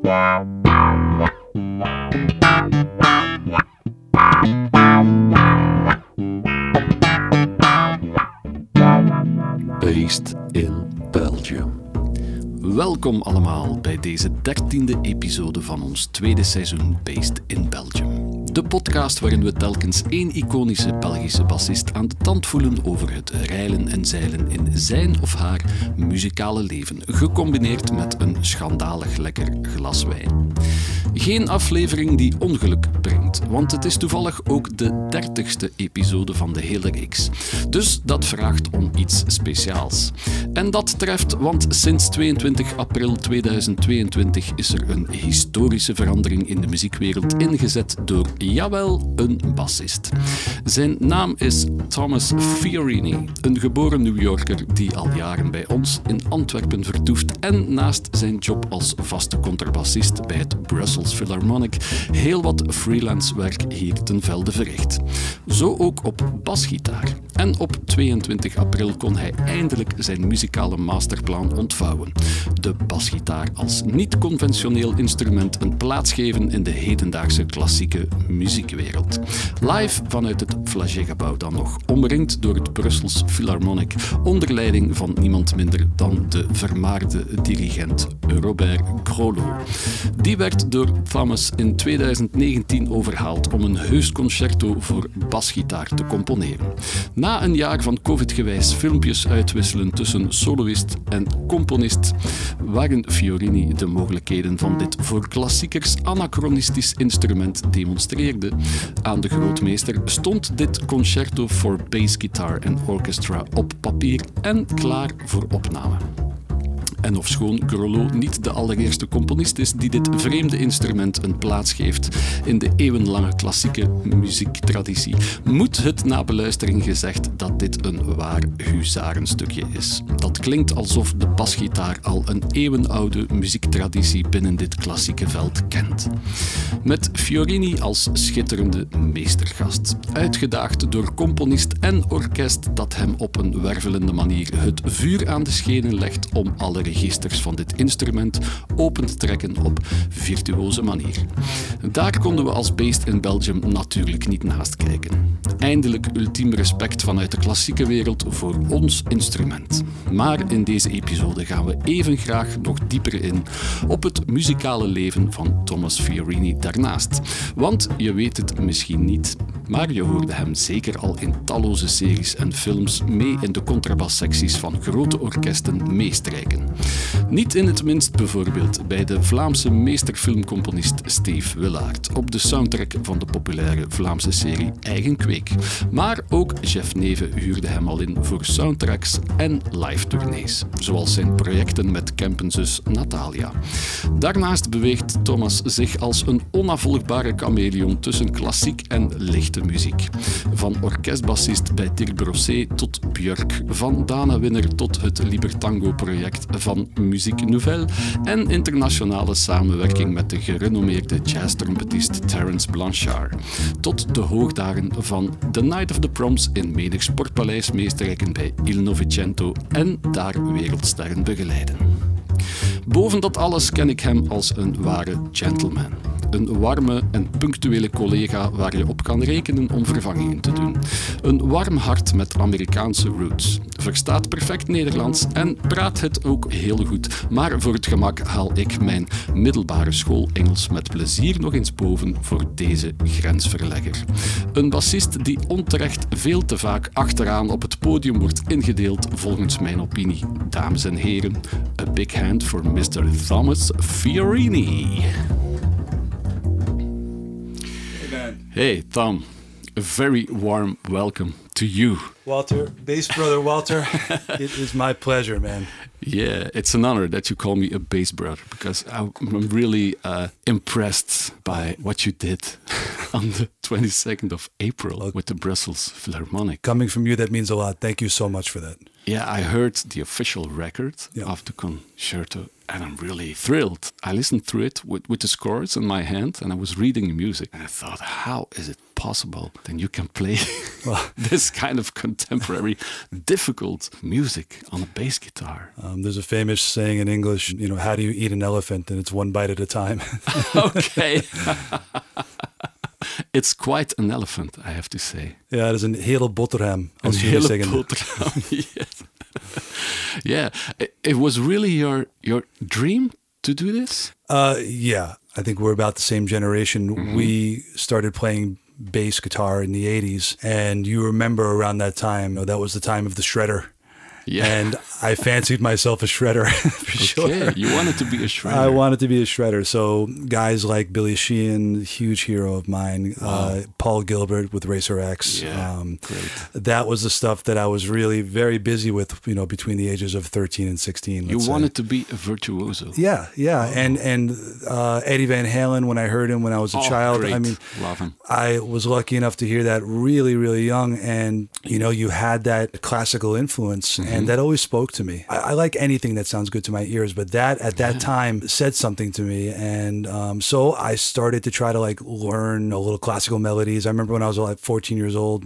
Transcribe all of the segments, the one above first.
Based in Belgium. Welkom allemaal bij deze 13e episode van ons tweede seizoen Based in Belgium. De podcast waarin we telkens één iconische Belgische bassist aan de tand voelen over het reilen en zeilen in zijn of haar muzikale leven, gecombineerd met een schandalig lekker glas wijn. Geen aflevering die ongeluk brengt, want het is toevallig ook de 30ste episode van de hele reeks. Dus dat vraagt om iets speciaals. En dat treft, want sinds 22 april 2022 is er een historische verandering in de muziekwereld ingezet door, jawel, een bassist. Zijn naam is Thomas Fiorini, een geboren New Yorker die al jaren bij ons in Antwerpen vertoeft en naast zijn job als vaste contrabassist bij het Brussels Philharmonic heel wat freelance werk hier ten velde verricht. Zo ook op basgitaar. En op 22 april kon hij eindelijk zijn muzikale masterplan ontvouwen. De basgitaar als niet-conventioneel instrument een plaats geven in de hedendaagse klassieke muziekwereld. Live vanuit het Flagey-gebouw dan nog, omringd door het Brussels Philharmonic, onder leiding van niemand minder dan de vermaarde dirigent Robert Grolot. Die werd door Thomas in 2019 overhaald om een heus concerto voor basgitaar te componeren. Na een jaar van covid-gewijs filmpjes uitwisselen tussen soloist en componist, waarin Fiorini de mogelijkheden van dit voor klassiekers anachronistisch instrument demonstreerde aan de grootmeester, stond dit concerto voor bass guitar en orchestra op papier en klaar voor opname. En ofschoon Grolot niet de allereerste componist is die dit vreemde instrument een plaats geeft in de eeuwenlange klassieke muziektraditie, moet het na beluistering gezegd dat dit een waar huzarenstukje is. Dat klinkt alsof de basgitaar al een eeuwenoude muziektraditie binnen dit klassieke veld kent. Met Fiorini als schitterende meestergast, uitgedaagd door componist en orkest dat hem op een wervelende manier het vuur aan de schenen legt om alle registers van dit instrument open te trekken op virtuoze manier. Daar konden we als Based in Belgium natuurlijk niet naast kijken. Eindelijk ultiem respect vanuit de klassieke wereld voor ons instrument. Maar in deze episode gaan we even graag nog dieper in op het muzikale leven van Thomas Fiorini daarnaast. Want je weet het misschien niet, maar je hoorde hem zeker al in talloze series en films mee in de contrabassecties van grote orkesten meestrijken. Niet in het minst bijvoorbeeld bij de Vlaamse meesterfilmcomponist Steve Willaert op de soundtrack van de populaire Vlaamse serie Eigen Kweek. Maar ook Jeff Neeve huurde hem al in voor soundtracks en live-tournees, zoals zijn projecten met Kempenzus Natalia. Daarnaast beweegt Thomas zich als een onafvolgbare chameleon tussen klassiek en lichte muziek. Van orkestbassist bij Dirk Brossé tot Björk, van Dana Winner tot het Libertango-project van Musique Nouvelle en internationale samenwerking met de gerenommeerde jazztrompetist Terence Blanchard, tot de hoogdagen van The Night of the Proms in menig sportpaleis meestrijken bij Il Novecento en daar wereldsterren begeleiden. Boven dat alles ken ik hem als een ware gentleman. Een warme en punctuele collega waar je op kan rekenen om vervangingen te doen. Een warm hart met Amerikaanse roots. Verstaat perfect Nederlands en praat het ook heel goed. Maar voor het gemak haal ik mijn middelbare school Engels met plezier nog eens boven voor deze grensverlegger. Een bassist die onterecht veel te vaak achteraan op het podium wordt ingedeeld volgens mijn opinie. Dames en heren, a big hand for Mr. Thomas Fiorini. Hey, Tom, a very warm welcome to you. Walter, bass brother Walter, it is my pleasure, man. Yeah, it's an honor that you call me a bass brother because I'm really impressed by what you did on the 22nd of April with the Brussels Philharmonic. Coming from you, that means a lot. Thank you so much for that. Yeah, I heard the official record of the concerto, and I'm really thrilled. I listened through it with the scores in my hand, and I was reading the music, and I thought, how is it possible that you can play this kind of contemporary, difficult music on a bass guitar? There's a famous saying in English, how do you eat an elephant? And it's one bite at a time. Okay. It's quite an elephant, I have to say. Ja, dat is een hele boterham. Een hele boterham, yes. Yeah, it was really your dream to do this? Yeah, I think we're about the same generation. We started playing bass guitar in the 80s, and you remember around that time, that was the time of the shredder. Yeah. And I fancied myself a shredder, for sure. You wanted to be a shredder. I wanted to be a shredder. So guys like Billy Sheehan, huge hero of mine, Paul Gilbert with Racer X. Great. That was the stuff that I was really very busy with, between the ages of 13 and 16. You wanted to be a virtuoso. Yeah. And Eddie Van Halen, when I heard him when I was a child, great. I mean, love him. I was lucky enough to hear that really, really young. And, you had that classical influence. And that always spoke to me. I like anything that sounds good to my ears, but that at that time said something to me. And so I started to try to learn a little classical melodies. I remember when I was 14 years old,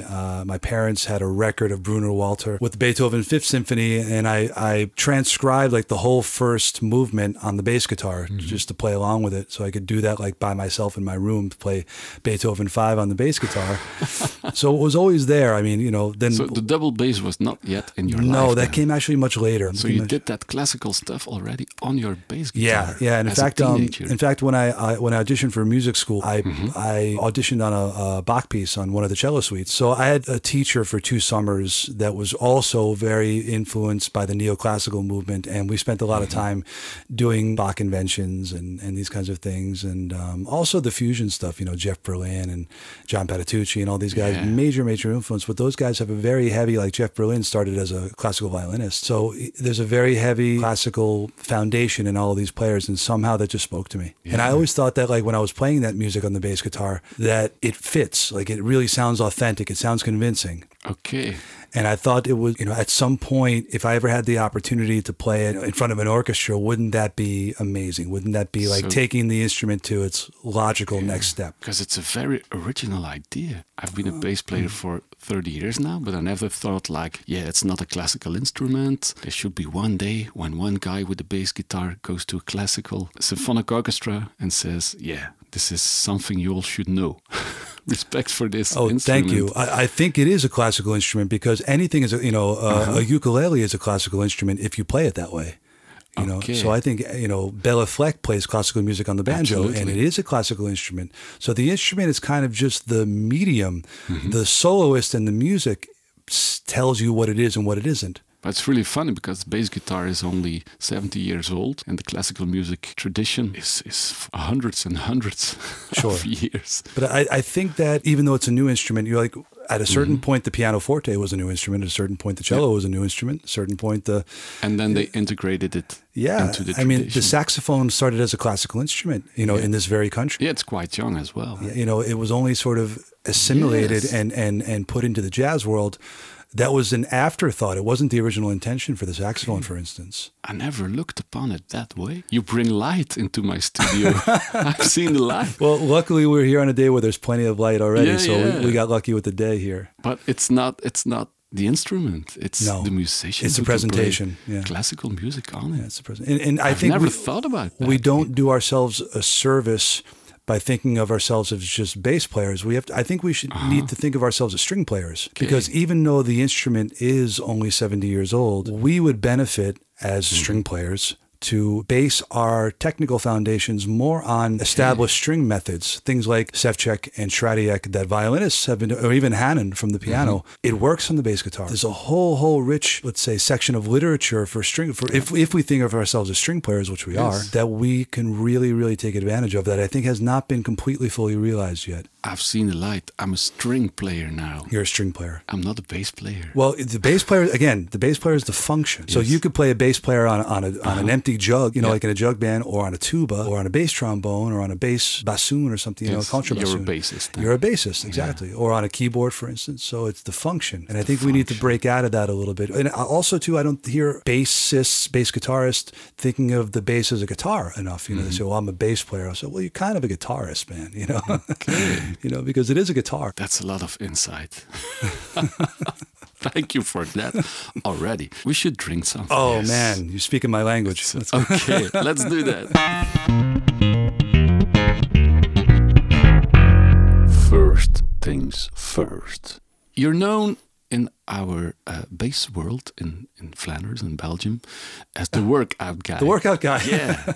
my parents had a record of Bruno Walter with the Beethoven Fifth Symphony, and I transcribed the whole first movement on the bass guitar just to play along with it. So I could do that by myself in my room, to play Beethoven 5 on the bass guitar. So it was always there. I mean, then... So the double bass was not yet in your life? No, that came actually much later. So you did that classical stuff already on your bass guitar? Yeah. And in fact, when I auditioned for music school, I auditioned on a Bach piece on one of the cello suites. So I had a teacher for 2 summers that was also very influenced by the neoclassical movement, and we spent a lot of time doing Bach inventions and these kinds of things, and also the fusion stuff. Jeff Berlin and John Patitucci and all these guys, major influence. But those guys have a very heavy, Jeff Berlin started as a classical violinist. So there's a very heavy classical foundation in all of these players, and somehow that just spoke to me. Yeah. And I always thought that when I was playing that music on the bass guitar, that it fits, it really sounds authentic, it sounds convincing. Okay. And I thought it was, at some point, if I ever had the opportunity to play it in front of an orchestra, wouldn't that be amazing? Wouldn't that be taking the instrument to its logical next step? Because it's a very original idea. I've been a bass player for 30 years now, but I never thought it's not a classical instrument. There should be one day when one guy with a bass guitar goes to a classical symphonic orchestra and says, this is something you all should know. Respect for this instrument. Thank you. I think it is a classical instrument because anything is, a ukulele is a classical instrument if you play it that way. So I think, Bela Fleck plays classical music on the banjo. Absolutely. And it is a classical instrument. So the instrument is kind of just the medium. The soloist and the music tells you what it is and what it isn't. But it's really funny because bass guitar is only 70 years old and the classical music tradition is hundreds and hundreds of years. But I think that even though it's a new instrument, you're at a certain point, the pianoforte was a new instrument. At a certain point, the cello was a new instrument. At a certain point, and then they integrated it into the tradition. I mean, the saxophone started as a classical instrument, in this very country. Yeah, it's quite young as well. It was only sort of assimilated and put into the jazz world. That was an afterthought. It wasn't the original intention for the saxophone, for instance. I never looked upon it that way. You bring light into my studio. I've seen the light. Well, luckily we're here on a day where there's plenty of light already, we got lucky with the day here. But it's not the instrument. It's the musician. It's the presentation. Classical music on it. It's the presentation. And I think never thought about that. We don't do ourselves a service by thinking of ourselves as just bass players. I think we should need to think of ourselves as string players, because even though the instrument is only 70 years old, we would benefit as string players to base our technical foundations more on established string methods, things like Ševčík and Šrádík that violinists have been, or even Hanon from the piano. It works on the bass guitar. There's a whole rich, let's say, section of literature for string, if we think of ourselves as string players, which we are, that we can really, really take advantage of, that I think has not been completely fully realized yet. I've seen the light. I'm a string player now. You're a string player. I'm not a bass player. Well, the bass player, again, the bass player is the function. So you could play a bass player on an empty empty jug, like in a jug band, or on a tuba, or on a bass trombone, or on a bass bassoon or something, contrabassoon. You're a bassist. You're a bassist, exactly. Or on a keyboard, for instance. So it's the function. And I think we need to break out of that a little bit. And also, too, I don't hear bassists, bass guitarists thinking of the bass as a guitar enough. They say, well, I'm a bass player. I say, well, you're kind of a guitarist, man, Okay. Because it is a guitar. That's a lot of insight. Thank you for that already. We should drink something. Oh, man, you're speaking my language. Okay, let's do that. First things first. You're known in our bass world in Flanders and Belgium as the workout guy. The workout guy. Yeah.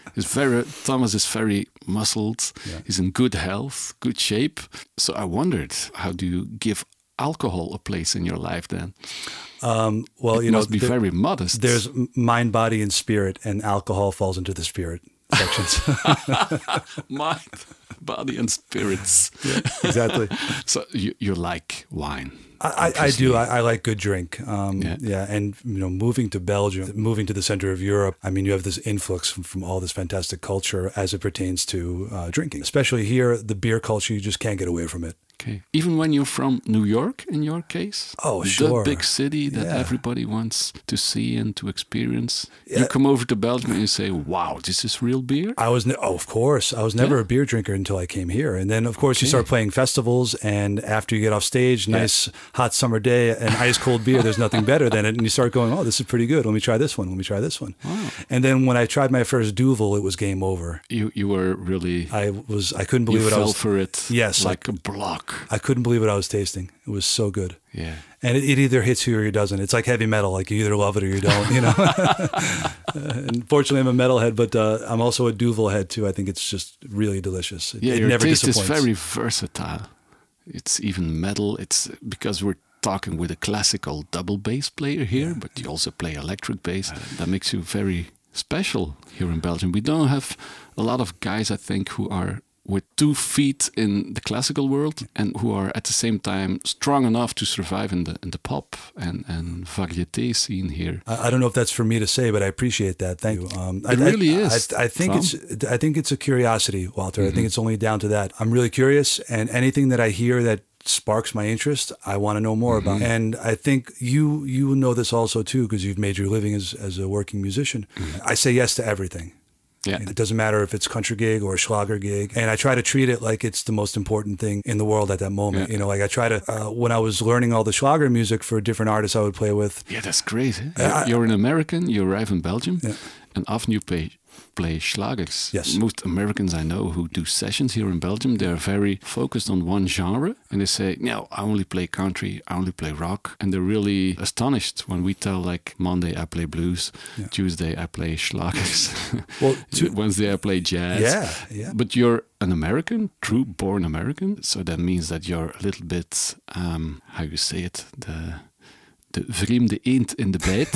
Thomas is very muscled. Yeah. He's in good health, good shape. So I wondered, how do you give alcohol a place in your life then? Well, it must be very modest. There's mind, body, and spirit, and alcohol falls into the spirit sections. Mind, body, and spirits. Yeah, exactly. So you like wine? I do. I like good drink. And moving to Belgium, moving to the center of Europe, I mean, you have this influx from all this fantastic culture as it pertains to drinking. Especially here, the beer culture, you just can't get away from it. Okay. Even when you're from New York, in your case? Oh, sure. The big city that everybody wants to see and to experience. Yeah. You come over to Belgium and you say, wow, this is real beer? Of course. I was never a beer drinker until I came here. And then, of course, you start playing festivals. And after you get off stage, nice hot summer day, and ice cold beer, there's nothing better than it. And you start going, oh, this is pretty good. Let me try this one. Wow. And then when I tried my first Duvel, it was game over. You were really... I couldn't believe what I was... You fell for it. Yes. Like a block. I couldn't believe what I was tasting. It was so good. Yeah. And it either hits you or it doesn't. It's like heavy metal. Like you either love it or you don't, Unfortunately, I'm a metalhead, but I'm also a Duvel head too. I think it's just really delicious. It your never taste disappoints. is very versatile. It's even metal. It's because we're talking with a classical double bass player here, but you also play electric bass. That makes you very special here in Belgium. We don't have a lot of guys, I think, who are with 2 feet in the classical world and who are at the same time strong enough to survive in the pop and variété scene here. I don't know if that's for me to say, but I appreciate that. Thank you. It really is. I think it's a curiosity, Walter. I think it's only down to that. I'm really curious, and anything that I hear that sparks my interest, I want to know more about. And I think you know this also too, because you've made your living as a working musician. I say yes to everything. Yeah. It doesn't matter if it's a country gig or a Schlager gig. And I try to treat it like it's the most important thing in the world at that moment. Yeah. Like I try to, when I was learning all the Schlager music for different artists I would play with. Yeah, that's crazy. You're an American, you arrive in Belgium, and often you play Schlagers. Yes. Most Americans I know who do sessions here in Belgium, they're very focused on one genre. And they say, no, I only play country, I only play rock. And they're really astonished when we tell, like, Monday I play blues, Tuesday I play Schlagers, Wednesday I play jazz. Yeah. But you're an American, true born American. So that means that you're a little bit, how you say it, the vreemde eend in de bijt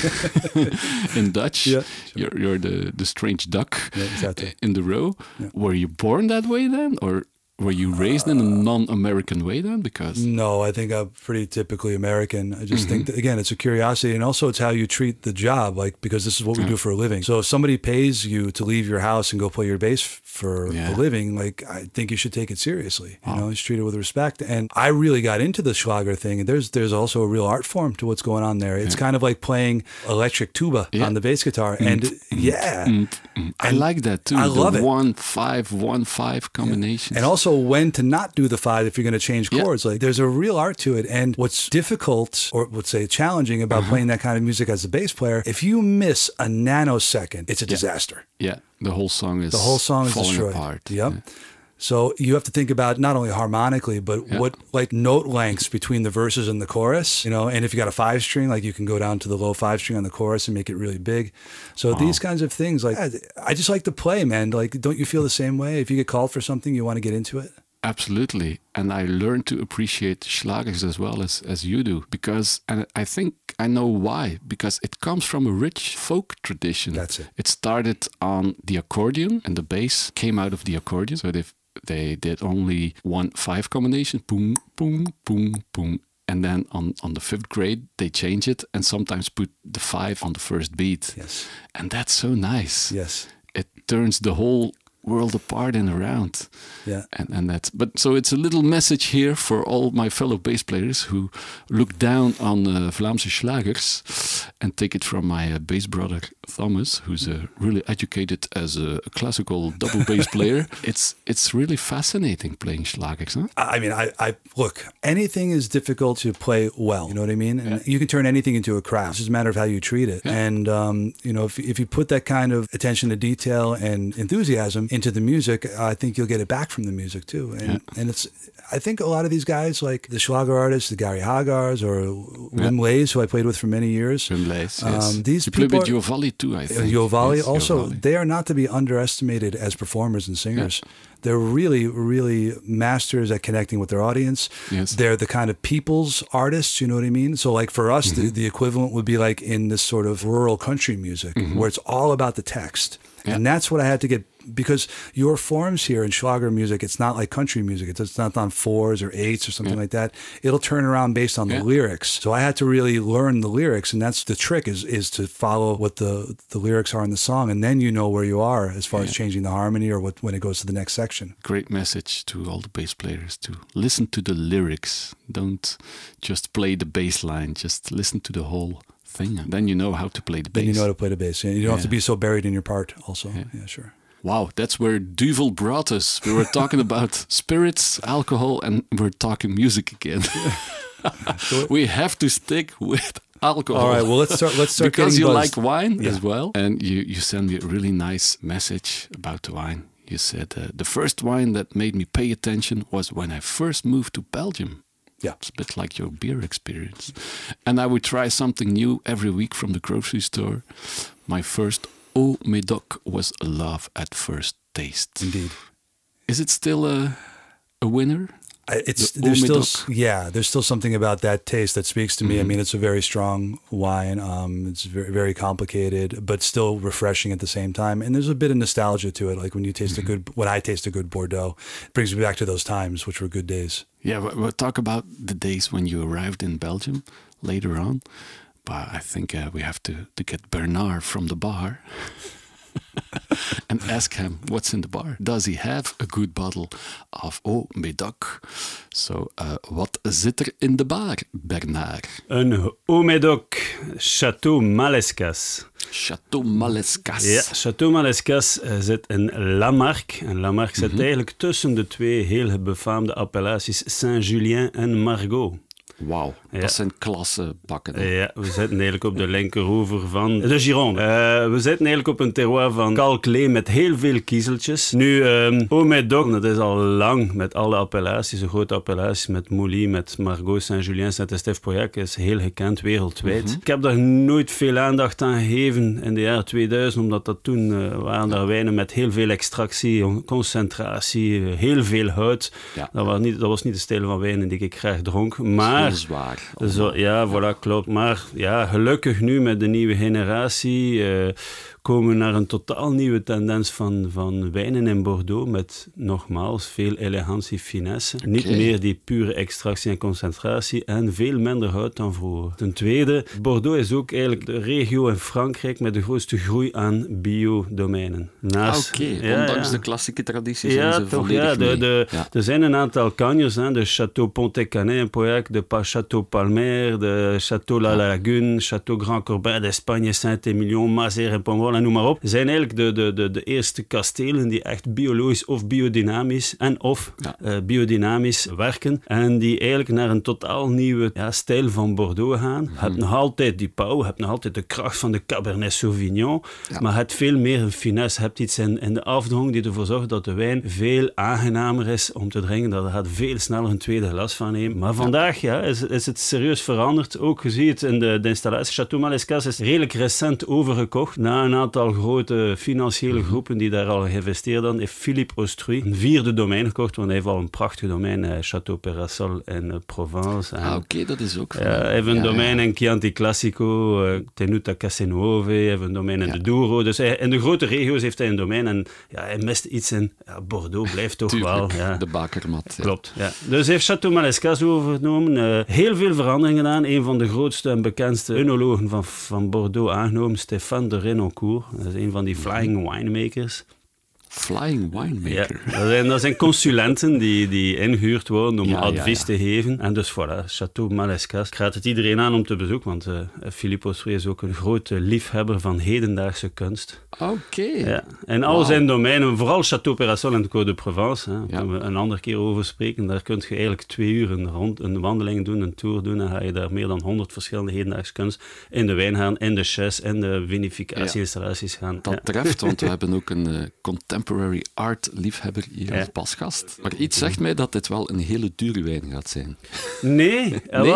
in Dutch. Yeah, sure. You're the strange duck in the row. Yeah. Were you born that way then, or were you raised in a non-American way then? Because no, I think I'm pretty typically American. I just think that, again, it's a curiosity, and also it's how you treat the job, like, because this is what we do for a living. So if somebody pays you to leave your house and go play your bass for a living, like, I think you should take it seriously. You know, just treat it with respect. And I really got into the Schlager thing, and there's also a real art form to what's going on there. It's kind of like playing electric tuba on the bass guitar, and I like that too. I love it. 1-5-1-5 combinations, and also when to not do the 5 if you're going to change chords. Like, there's a real art to it. And what's difficult, or let's say challenging, about playing that kind of music as a bass player, if you miss a nanosecond, it's a disaster. Yeah, the whole song is falling destroyed. Apart. Yep. Yeah. So you have to think about not only harmonically, but what, like, note lengths between the verses and the chorus, and if you got a 5-string, like, you can go down to the low 5-string on the chorus and make it really big. So these kinds of things, like, I just like to play, man. Like, don't you feel the same way? If you get called for something, you want to get into it? Absolutely. And I learned to appreciate Schlagers as well as you do, because, and I think I know why, because it comes from a rich folk tradition. That's it. It started on the accordion, and the bass came out of the accordion. So they did only 1-5 combination, boom, boom, boom, boom. And then on the 5th grade, they change it and sometimes put the 5 on the first beat. Yes. And that's so nice. Yes. It turns the whole world apart and around. Yeah. And that's, but so it's a little message here for all my fellow bass players who look down on Vlaamse slagers, and take it from my bass brother Thomas, who's really educated as a classical double bass player. It's really fascinating playing slagers, huh? I mean, I look, anything is difficult to play well. You know what I mean? And you can turn anything into a craft. It's just a matter of how you treat it. Yeah. And, you know, if you put that kind of attention to detail and enthusiasm into the music, I think you'll get it back from the music too. And it's, I think a lot of these guys, like the Schlager artists, the Gary Hagars or Wim Lees, who I played with for many years. Wim Lees, yes. These you people play with Jovalli too, I think. Jovalli yes, also, Jovalli. They are not to be underestimated as performers and singers. Yeah. They're really, really masters at connecting with their audience. Yes. They're the kind of people's artists, you know what I mean? So like for us, the equivalent would be like in this sort of rural country music where it's all about the text. Yeah. And that's what I had to get, because your forms here in Schlager music, it's not like country music. It's not on 4s or 8s or something like that. It'll turn around based on the lyrics. So I had to really learn the lyrics, and that's the trick is to follow what the lyrics are in the song, and then you know where you are as far as changing the harmony or when it goes to the next section. Great message to all the bass players to listen to the lyrics. Don't just play the bass line, just listen to the whole thing, and then you know how to play the bass. Then you know how to play the bass. You don't have to be so buried in your part also. Yeah, sure. Wow, that's where Duvel brought us. We were talking about spirits, alcohol, and we're talking music again. We have to stick with alcohol. All right, well, let's start because you buzzed. like wine as well. And you sent me a really nice message about the wine. You said, the first wine that made me pay attention was when I first moved to Belgium. Yeah. It's a bit like your beer experience. And I would try something new every week from the grocery store. My first Au Médoc was love at first taste. Indeed. Is it still a winner? There's still something about that taste that speaks to me. I mean, it's a very strong wine. It's very, very complicated, but still refreshing at the same time. And there's a bit of nostalgia to it. Like when you taste when I taste a good Bordeaux, it brings me back to those times, which were good days. Yeah, we'll talk about the days when you arrived in Belgium later on. But I think we have to get Bernard from the bar and ask him what's in the bar. Does he have a good bottle of Au Médoc? So, wat zit er in de bar, Bernard? Een Au Médoc Château Malescas. Château Malescas. Ja, Château Malescas zit in Lamarque. En Lamarque zit eigenlijk tussen de twee heel befaamde appellaties Saint-Julien en Margaux. Wauw, dat zijn klasse bakken. Ja, we zitten eigenlijk op de linkeroever van de Gironde. We zitten eigenlijk op een terroir van kalklee met heel veel kiezeltjes. Nu, Au Médoc, dat is al lang met alle appellaties, de grote appellaties, met Mouly, met Margaux, Saint-Julien, Saint-Estèphe-Pauillac, is heel gekend wereldwijd. Ik heb daar nooit veel aandacht aan gegeven in de jaren 2000, omdat dat toen waren daar wijnen met heel veel extractie, concentratie, heel veel hout. Ja. Dat was niet de stijl van wijnen die ik graag dronk, maar zwaar. Zo, ja, voilà, klopt. Maar ja, gelukkig nu met de nieuwe generatie komen we naar een totaal nieuwe tendens van wijnen in Bordeaux met nogmaals veel elegantie, finesse. Okay. Niet meer die pure extractie en concentratie en veel minder hout dan vroeger. Ten tweede, Bordeaux is ook eigenlijk de regio in Frankrijk met de grootste groei aan biodomeinen. Ondanks de klassieke tradities zijn ze toch, volledig mee. Er zijn een aantal kanjers, de Château Pontet-Canet in Pauillac, de Château Palmer, de Château La Lagune, Château Grand Corbin d'Espagne, Saint-Émilion, Mazères en Pomerol en noem maar op, zijn eigenlijk de eerste kastelen die echt biologisch of biodynamisch biodynamisch werken en die eigenlijk naar een totaal nieuwe stijl van Bordeaux gaan. Je hebt nog altijd die pauw, je hebt nog altijd de kracht van de Cabernet Sauvignon, maar je hebt veel meer een finesse, je hebt iets in de afdronk die ervoor zorgt dat de wijn veel aangenamer is om te drinken, dat je gaat veel sneller een tweede glas van nemen. Maar vandaag is het serieus veranderd. Ook je ziet in de installatie. Château Malescas is redelijk recent overgekocht na een aantal grote financiële groepen die daar al geïnvesteerd hadden. Heeft Philippe Austruy een 4e domein gekocht, want hij heeft al een prachtig domein, Château Perasol in Provence. Dat is ook hij heeft een domein in Chianti Classico, Tenuta Casenuove, hij heeft een domein in de Douro. Dus in de grote regio's heeft hij een domein en hij mist iets in Bordeaux, blijft toch tuurlijk, wel. Ja. De bakermat. Klopt, ja. Dus hij heeft Château Malescas overgenomen. heel veel veranderingen gedaan. Een van de grootste en bekendste œnologen van Bordeaux aangenomen, Stéphane de Renoncourt. Dat is een van die flying winemakers. Flying winemaker. Ja, dat zijn consulenten die ingehuurd worden om advies te geven. En dus voilà, Château Malescas. Ik raad het iedereen aan om te bezoeken, want Philippe Ossuet is ook een grote liefhebber van hedendaagse kunst. Oké. Ja. En al zijn domeinen, vooral Château Pérasol en Côte de Provence, daar kunnen we een andere keer over spreken. Daar kun je eigenlijk 2 uur een wandeling doen, een tour doen, en ga je daar meer dan 100 verschillende hedendaagse kunst in de wijngaarden, in de chais, in de vinificatie-installaties gaan. Dat treft, want we hebben ook een contemporary art liefhebber hier als pasgast. Maar iets zegt mij dat dit wel een hele dure wijn gaat zijn. Nee,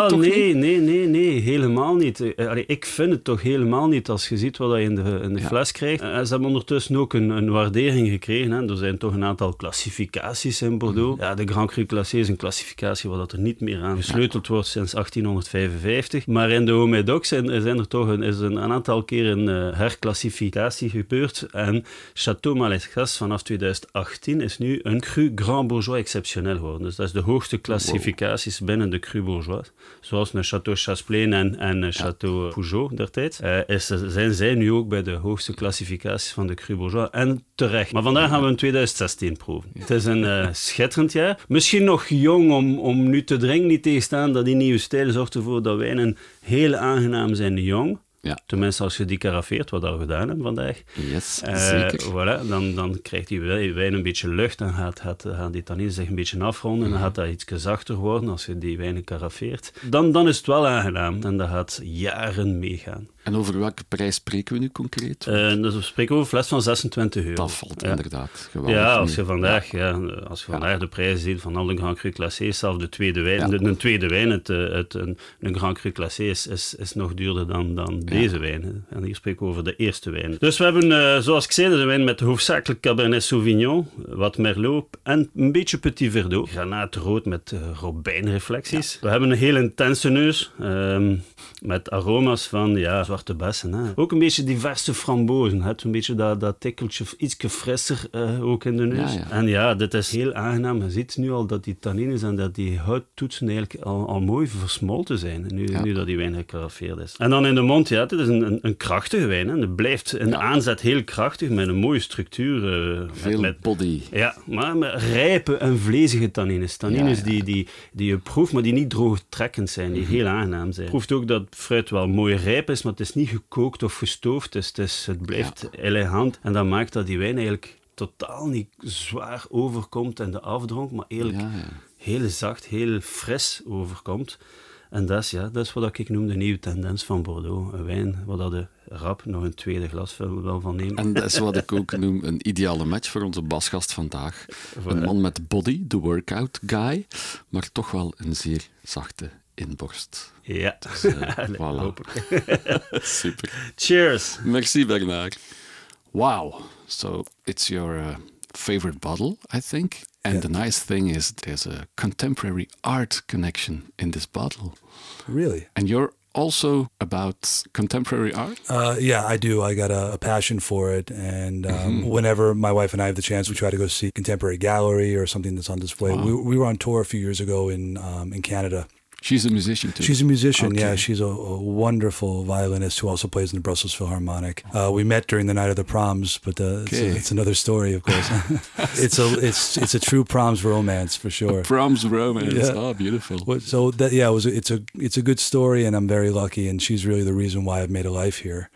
helemaal niet. Ik vind het toch helemaal niet als je ziet wat je in de fles krijgt. Ze hebben ondertussen ook een waardering gekregen. Hè. Er zijn toch een aantal klassificaties in Bordeaux. Ja, de Grand Cru Classé is een klassificatie waar er niet meer aan gesleuteld wordt sinds 1855. Maar in de Haut-Médoc is er toch een aantal keer een herklassificatie gebeurd. En Château Malescas vanaf 2018 is nu een Cru Grand Bourgeois exceptionnel geworden. Dus dat is de hoogste klassificaties binnen de Cru Bourgeois. Zoals een Château Chasplein en Château Peugeot dertijds. Zijn zij nu ook bij de hoogste klassificaties van de Cru Bourgeois. En terecht. Maar vandaag gaan we in 2016 proeven. Het is een schitterend jaar. Misschien nog jong om nu te drinken, niet tegenstaan dat die nieuwe stijl zorgt ervoor dat wijnen heel aangenaam zijn jong. Ja. Tenminste, als je die karafeert, wat we gedaan hebben vandaag. Yes, zeker. Voilà, dan krijgt die wijn een beetje lucht en gaat die tannine zich een beetje afronden en dan gaat dat iets zachter worden als je die wijnen karafeert. Dan is het wel aangenaam en dat gaat jaren meegaan. En over welke prijs spreken we nu concreet? Dus we spreken over een fles van €26. Dat valt inderdaad geweldig. Ja, als je vandaag, de prijzen ziet van al de Grand Cru Classé, zelfs de tweede wijn. Een tweede wijn, een Grand Cru Classé is nog duurder dan deze wijn. En hier spreken we over de eerste wijn. Dus we hebben, zoals ik zei, de wijn met hoofdzakelijk Cabernet Sauvignon, wat Merlot en een beetje Petit Verdot. Granaatrood met robijnreflecties. Ja. We hebben een heel intense neus, met aroma's van zwarte bessen. Hè. Ook een beetje diverse frambozen. Het een beetje dat tikkeltje, ietsje frisser ook in de neus. Ja. En dit is heel aangenaam. Je ziet nu al dat die tannines en dat die houttoetsen eigenlijk al mooi versmolten zijn. Nu dat die wijn gekarafeerd is. En dan in de mond, het is een krachtige wijn. Hè. Het blijft in de aanzet heel krachtig, met een mooie structuur. Veel body. Ja, maar met rijpe en vlezige tannines. Tannines die je proeft, maar die niet droogtrekkend zijn, die heel aangenaam zijn. Je proeft ook dat fruit wel mooi rijp is, maar het is niet gekookt of gestoofd. Het blijft elegant. En dat maakt dat die wijn eigenlijk totaal niet zwaar overkomt in de afdronk, maar eigenlijk heel zacht, heel fris overkomt. En dat is wat ik noem de nieuwe tendens van Bordeaux. Een wijn waar de rap nog een tweede glas wel van neemt. En dat is wat ik ook noem een ideale match voor onze basgast vandaag. Een man met body, de workout guy, maar toch wel een zeer zachte inborst. Ja, dus, voilà. Super. Cheers. Merci Bernard. Wow, so it's your favorite bottle, I think. And the nice thing is there's a contemporary art connection in this bottle. Really? And you're also about contemporary art? I do. I got a passion for it. And whenever my wife and I have the chance, we try to go see contemporary gallery or something that's on display. Wow. We were on tour a few years ago in Canada. She's a musician too? She's a musician, yeah. She's a wonderful violinist who also plays in the Brussels Philharmonic. We met during the night of the proms, but it's another story, of course. It's a true proms romance for sure. A proms romance, beautiful. So it's a good story, and I'm very lucky, and she's really the reason why I've made a life here.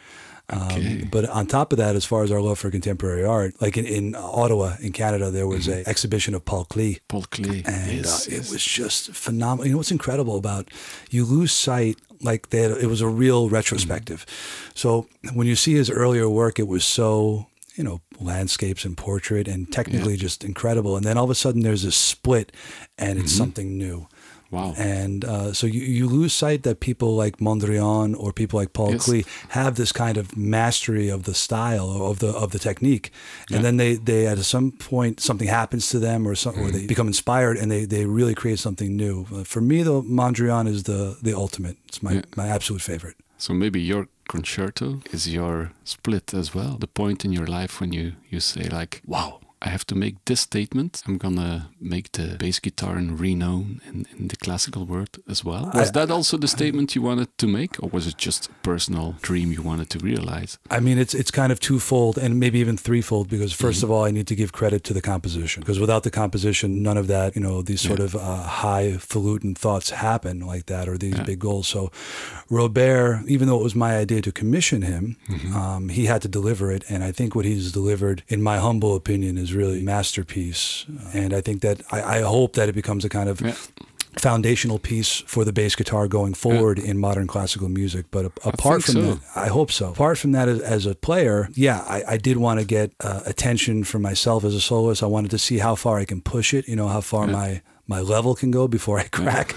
But on top of that, as far as our love for contemporary art, like in Ottawa, in Canada, there was an exhibition of Paul Klee. Paul Klee, and it was just phenomenal. You know what's incredible about, you lose sight, like it was a real retrospective. So when you see his earlier work, it was so, landscapes and portrait and technically just incredible. And then all of a sudden there's this split and it's something new. Wow. And so you lose sight that people like Mondrian or people like Paul Klee have this kind of mastery of the style, of the technique. And then they at some point something happens to them or they become inspired and they really create something new. For me, though, Mondrian is the ultimate. It's my absolute favorite. So maybe your concerto is your split as well. The point in your life when you say like, wow, I have to make this statement. I'm gonna make the bass guitar renowned in the classical world as well. Was that also the statement you wanted to make, or was it just a personal dream you wanted to realize? I mean, it's kind of twofold and maybe even threefold, because first of all, I need to give credit to the composition, because without the composition, none of that, these sort of highfalutin thoughts happen like that, or these big goals. So Robert, even though it was my idea to commission him, he had to deliver it. And I think what he's delivered, in my humble opinion, is really a masterpiece. And I think that I hope that it becomes a kind of foundational piece for the bass guitar going forward in modern classical music. But apart from that, I hope so. Apart from that, as a player, I did want to get attention for myself as a soloist. I wanted to see how far I can push it, how far my level can go before I crack.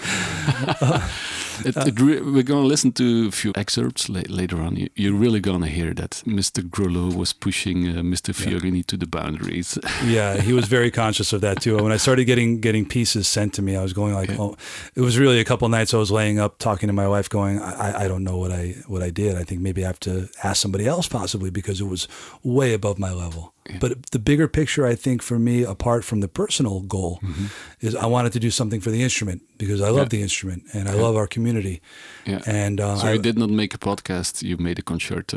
We're going to listen to a few excerpts later on. You're really going to hear that Mr. Grolot was pushing Mr. Fiorini to the boundaries. Yeah, he was very conscious of that too. When I started getting pieces sent to me, I was going like, oh, it was really a couple of nights I was laying up talking to my wife going, I don't know what I did. I think maybe I have to ask somebody else possibly, because it was way above my level. Yeah. But the bigger picture, I think, for me, apart from the personal goal, is I wanted to do something for the instrument, because I love the instrument and I love our community. Yeah. And so you did not make a podcast; you made a concerto.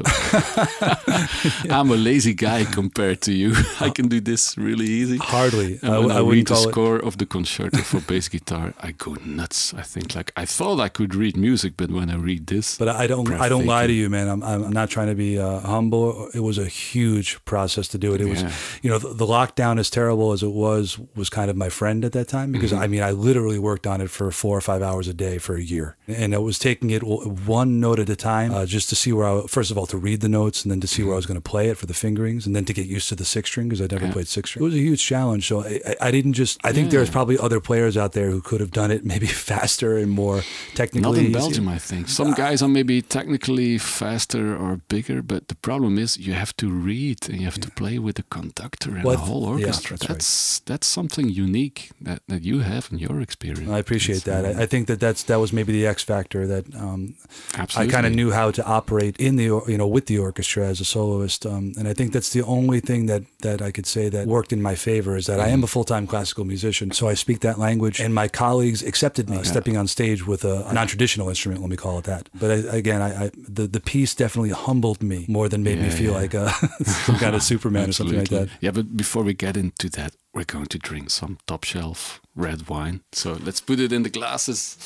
I'm a lazy guy compared to you. I can do this really easy. Hardly. And when I read the score of the concerto for bass guitar, I go nuts. I think I thought I could read music, but when I read this, but I don't lie to you, man. I'm not trying to be humble. It was a huge process to do it. It was, the lockdown, as terrible as it was kind of my friend at that time, because I mean, I literally worked on it for 4 or 5 hours a day for a year, and I was taking it one note at a time, just to see first of all, to read the notes, and then to see where I was going to play it for the fingerings, and then to get used to the six string, because I'd never played six string. It was a huge challenge. So I didn't just, I think there's probably other players out there who could have done it maybe faster and more technically. Not in Belgium, I think. Some guys are maybe technically faster or bigger, but the problem is you have to read and you have to play with the conductor and the whole orchestra. Yeah, that's something unique that you have in your experience. I appreciate that. I think that was maybe the X factor that I kind of knew how to operate in the with the orchestra as a soloist, and I think that's the only thing that I could say that worked in my favor, is that I am a full-time classical musician, so I speak that language, and my colleagues accepted me stepping on stage with a non-traditional instrument, let me call it that. But the piece definitely humbled me more than made me feel like some kind of Superman or something like that. Yeah, but before we get into that, we're going to drink some top shelf red wine. So let's put it in the glasses.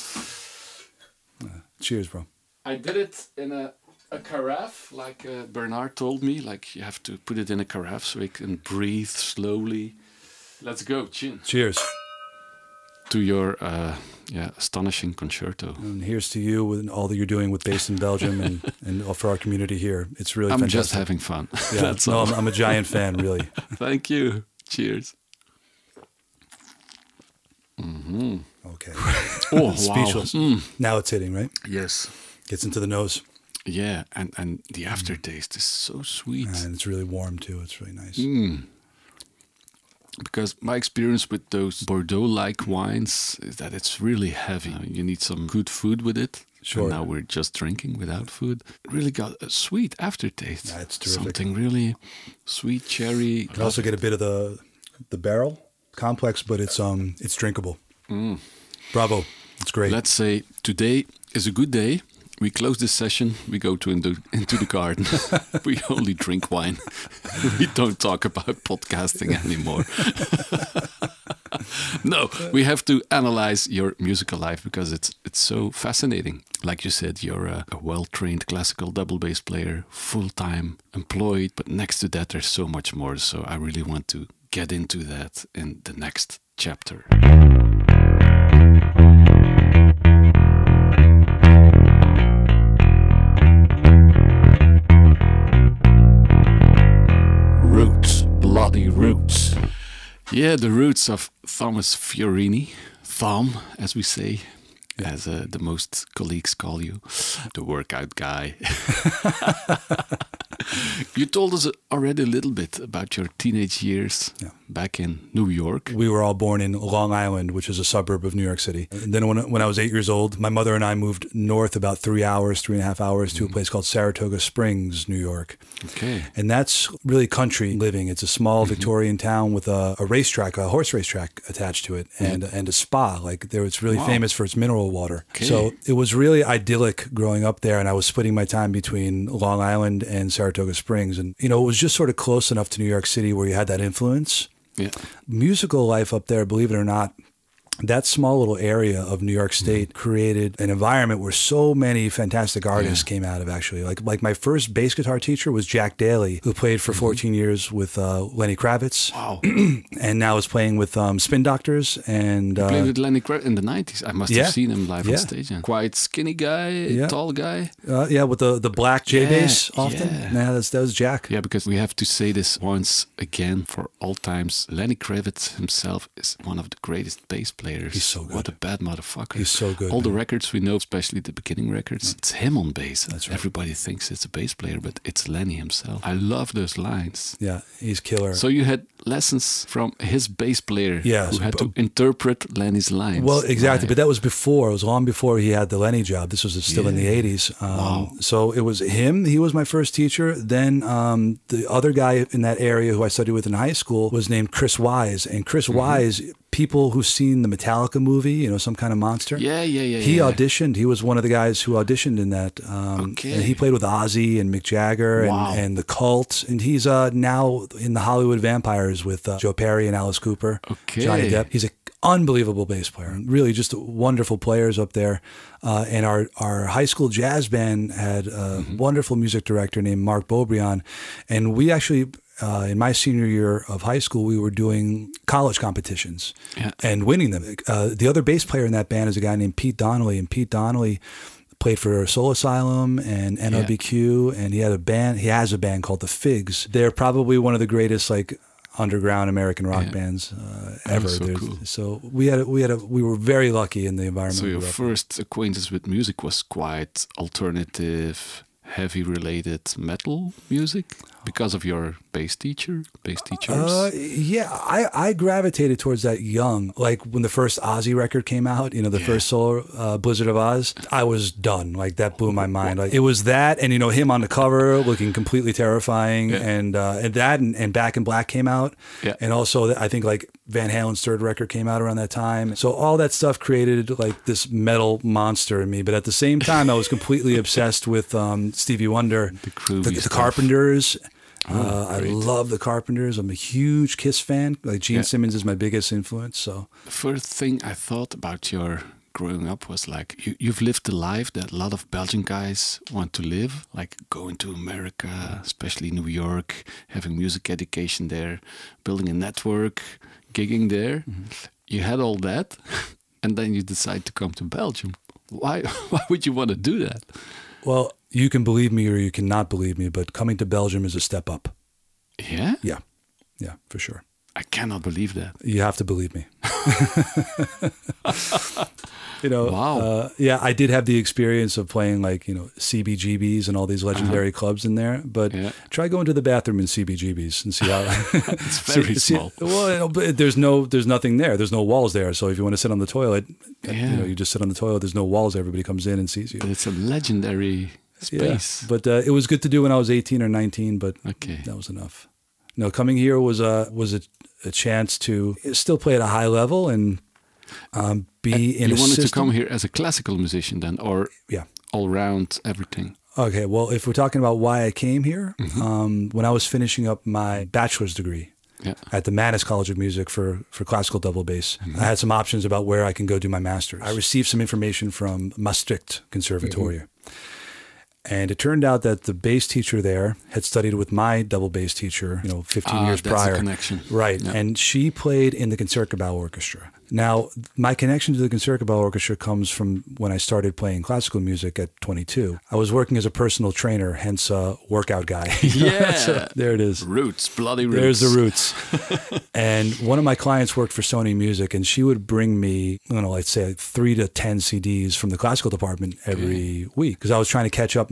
Cheers, bro. I did it in a carafe, like Bernard told me. Like, you have to put it in a carafe so it can breathe slowly. Let's go, chin. Cheers. To your astonishing concerto. And here's to you with all that you're doing with Based in Belgium and for our community here. It's really fantastic. I'm just having fun. Yeah, That's all. I'm a giant fan, really. Thank you. Cheers. Okay. Oh, speechless. Wow. Now it's hitting, right? Yes. Gets into the nose. Yeah, and the aftertaste is so sweet. And it's really warm too. It's really nice. Because my experience with those Bordeaux-like wines is that it's really heavy. You need some good food with it. Sure. And now we're just drinking without food. It really got a sweet aftertaste. Yeah, it's terrific. Something really sweet, cherry. You can also get a bit of the barrel complex, but it's drinkable. Bravo. It's great. Let's say today is a good day. We close this session, we go into the garden. We only drink wine. We don't talk about podcasting anymore. No, we have to analyze your musical life because it's so fascinating. Like you said, you're a well-trained classical double bass player, full-time employed, but next to that there's so much more. So I really want to get into that in the next chapter. Bloody roots. Yeah, the roots of Thomas Fiorini. Thom, as we say, as the most colleagues call you, the workout guy. You told us already a little bit about your teenage years, back in New York. We were all born in Long Island, which is a suburb of New York City. And then when I was 8 years old, my mother and I moved north about 3.5 hours to a place called Saratoga Springs, New York. Okay. And that's really country living. It's a small Victorian town with a racetrack, a horse racetrack attached to it, and a spa. Like there, it's really famous for its mineral water. Okay. So it was really idyllic growing up there, and I was splitting my time between Long Island and Saratoga Springs. And, you know, it was just sort of close enough to New York City where you had that influence. Yeah. Musical life up there, believe it or not, that small little area of New York State created an environment where so many fantastic artists came out of, actually. Like my first bass guitar teacher was Jack Daly, who played for 14 years with Lenny Kravitz. Wow. And now is playing with Spin Doctors. And You played with Lenny Kravitz in the 90s. I must have seen him live on stage. Yeah. Quite skinny guy, tall guy. Yeah, with the black J bass often. Yeah, that was Jack. Yeah, because we have to say this once again for all times. Lenny Kravitz himself is one of the greatest bass players. He's so good. What a bad motherfucker. He's so good. All the records we know, especially the beginning records, it's him on bass. That's right. Everybody thinks it's a bass player, but it's Lenny himself. I love those lines. Yeah, he's killer. So you had lessons from his bass player Yes, who had to interpret Lenny's lines. Well, exactly. Right. But that was before. It was long before he had the Lenny job. This was still in the 80s. So it was him. He was my first teacher. Then the other guy in that area who I studied with in high school was named Chris Wise. And Chris Wise, people who've seen the Metallica movie, you know, Some Kind of Monster. He auditioned. He was one of the guys who auditioned in that. And he played with Ozzy and Mick Jagger and the Cult. And he's now in the Hollywood Vampires with Joe Perry and Alice Cooper. Johnny Depp. He's an unbelievable bass player. Really just wonderful players up there. And our high school jazz band had a wonderful music director named Mark Beaubrion. And we actually... in my senior year of high school, we were doing college competitions and winning them. The other bass player in that band is a guy named Pete Donnelly, and Pete Donnelly played for Soul Asylum and NRBQ, and he had a band. He has a band called the Figs. They're probably one of the greatest underground American rock bands ever. So cool. So we were very lucky in the environment. So your first acquaintance with music was quite alternative, heavy related metal music because of your bass teachers? I gravitated towards that young. Like when the first Ozzy record came out, you know, the first solo Blizzard of Oz, I was done. Like that blew my mind. Like it was that, and you know, him on the cover looking completely terrifying, and that and Back in Black came out, and also I think like Van Halen's third record came out around that time. So all that stuff created like this metal monster in me. But at the same time, I was completely obsessed with Stevie Wonder, the Carpenters. I love the Carpenters. I'm a huge Kiss fan. Like Gene Simmons is my biggest influence. So the first thing I thought about your growing up was like you've lived the life that a lot of Belgian guys want to live, like going to America, especially New York, having music education there, building a network, gigging there. You had all that, and then you decide to come to Belgium. Why would you want to do that? Well, you can believe me or you cannot believe me, but coming to Belgium is a step up. Yeah? Yeah, for sure. I cannot believe that. You have to believe me. You know, wow. I did have the experience of playing like, you know, CBGBs and all these legendary clubs in there, but try going to the bathroom in CBGBs and see how it's very small. Well, there's nothing there. There's no walls there. So if you want to sit on the toilet, you know, you just sit on the toilet. There's no walls. Everybody comes in and sees you. But it's a legendary space. Yeah, but it was good to do when I was 18 or 19, but that was enough. No, coming here was a chance to still play at a high level and be in a system. You wanted to come here as a classical musician then, or all round everything? Okay, well, if we're talking about why I came here, when I was finishing up my bachelor's degree at the Mannes College of Music for classical double bass, I had some options about where I can go do my master's. I received some information from Maastricht Conservatorium. And it turned out that the bass teacher there had studied with my double bass teacher, you know, 15 years prior. That's a connection. Right. Yeah. And she played in the Concertgebouw Orchestra. Now, my connection to the Concertgebouw Orchestra comes from when I started playing classical music at 22. I was working as a personal trainer, hence workout guy. Yeah. So, there it is. Roots, bloody roots. There's the roots. And one of my clients worked for Sony Music, and she would bring me, let's say 3 to 10 CDs from the classical department every week, because I was trying to catch up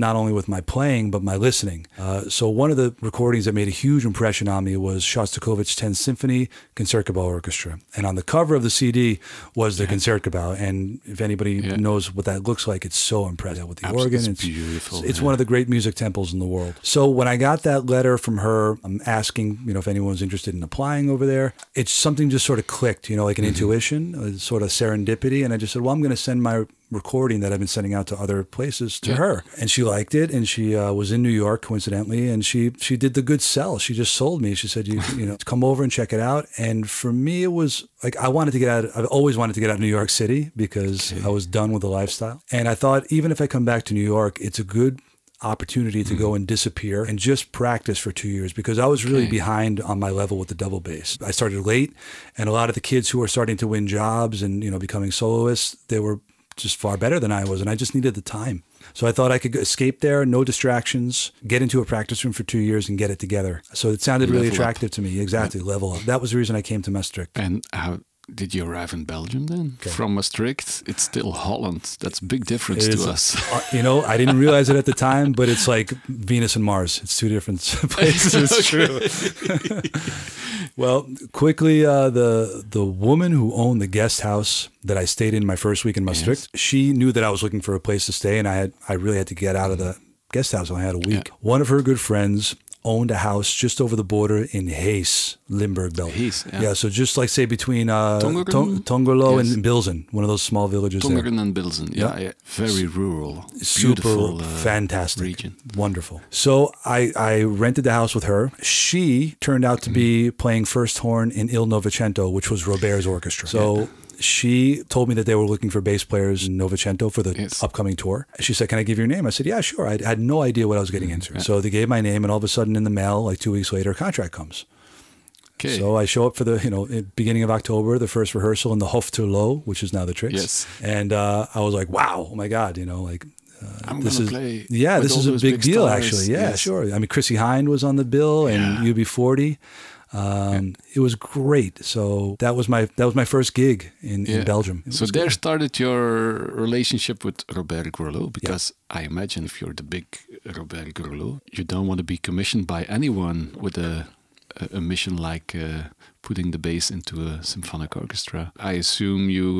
not only with my playing, but my listening. So one of the recordings that made a huge impression on me was Shostakovich 10th Symphony Concertgebouw Orchestra. And on the cover of the CD was the Concertgebouw. And if anybody knows what that looks like, it's so impressive with the organ. It's beautiful. It's one of the great music temples in the world. So when I got that letter from her, I'm asking, if anyone's interested in applying over there, it's something just sort of clicked, like an intuition, sort of serendipity. And I just said, well, I'm going to send my recording that I've been sending out to other places to her. And she liked it. And she was in New York, coincidentally. And she did the good sell. She just sold me. She said, come over and check it out. And for me, it was like, I've always wanted to get out of New York City because I was done with the lifestyle. And I thought, even if I come back to New York, it's a good opportunity to go and disappear and just practice for 2 years, because I was really behind on my level with the double bass. I started late, and a lot of the kids who were starting to win jobs and, becoming soloists, they were just far better than I was, and I just needed the time. So I thought I could escape there, no distractions, get into a practice room for 2 years and get it together. So it sounded really attractive to me. Exactly, level up. That was the reason I came to Maastricht. And how did you arrive in Belgium then? From Maastricht, it's still Holland. That's a big difference to us. I didn't realize it at the time, but it's like Venus and Mars. It's two different places. It's true. Well, quickly, the woman who owned the guest house that I stayed in my first week in Maastricht, she knew that I was looking for a place to stay, and I really had to get out of the guest house. I had a week. One of her good friends owned a house just over the border in Hees, Limburg, Belgium. Hees, so just like say between Tongerlo and Bilzen, one of those small villages Tongeren and Bilzen, very rural, super fantastic region. Wonderful. So I rented the house with her. She turned out to be playing first horn in Il Novecento, which was Robert's orchestra. So she told me that they were looking for bass players in Novecento for the upcoming tour. She said, can I give your name? I said, yeah, sure. I had no idea what I was getting into. So they gave my name, and all of a sudden in the mail, like 2 weeks later, a contract comes. Okay. So I show up for the, beginning of October, the first rehearsal in the Hof ter Loo, which is now the Trix. Yes. And I was like, wow, oh my God, I'm going to play. Yeah, this is a big deal, stars. Actually. Yeah, sure. I mean, Chrissy Hind was on the bill, and UB40. It was great. So that was my first gig in Belgium. So there started your relationship with Robert Gourlot, because I imagine if you're the big Robert Gourlot, you don't want to be commissioned by anyone with a mission like putting the bass into a symphonic orchestra. I assume you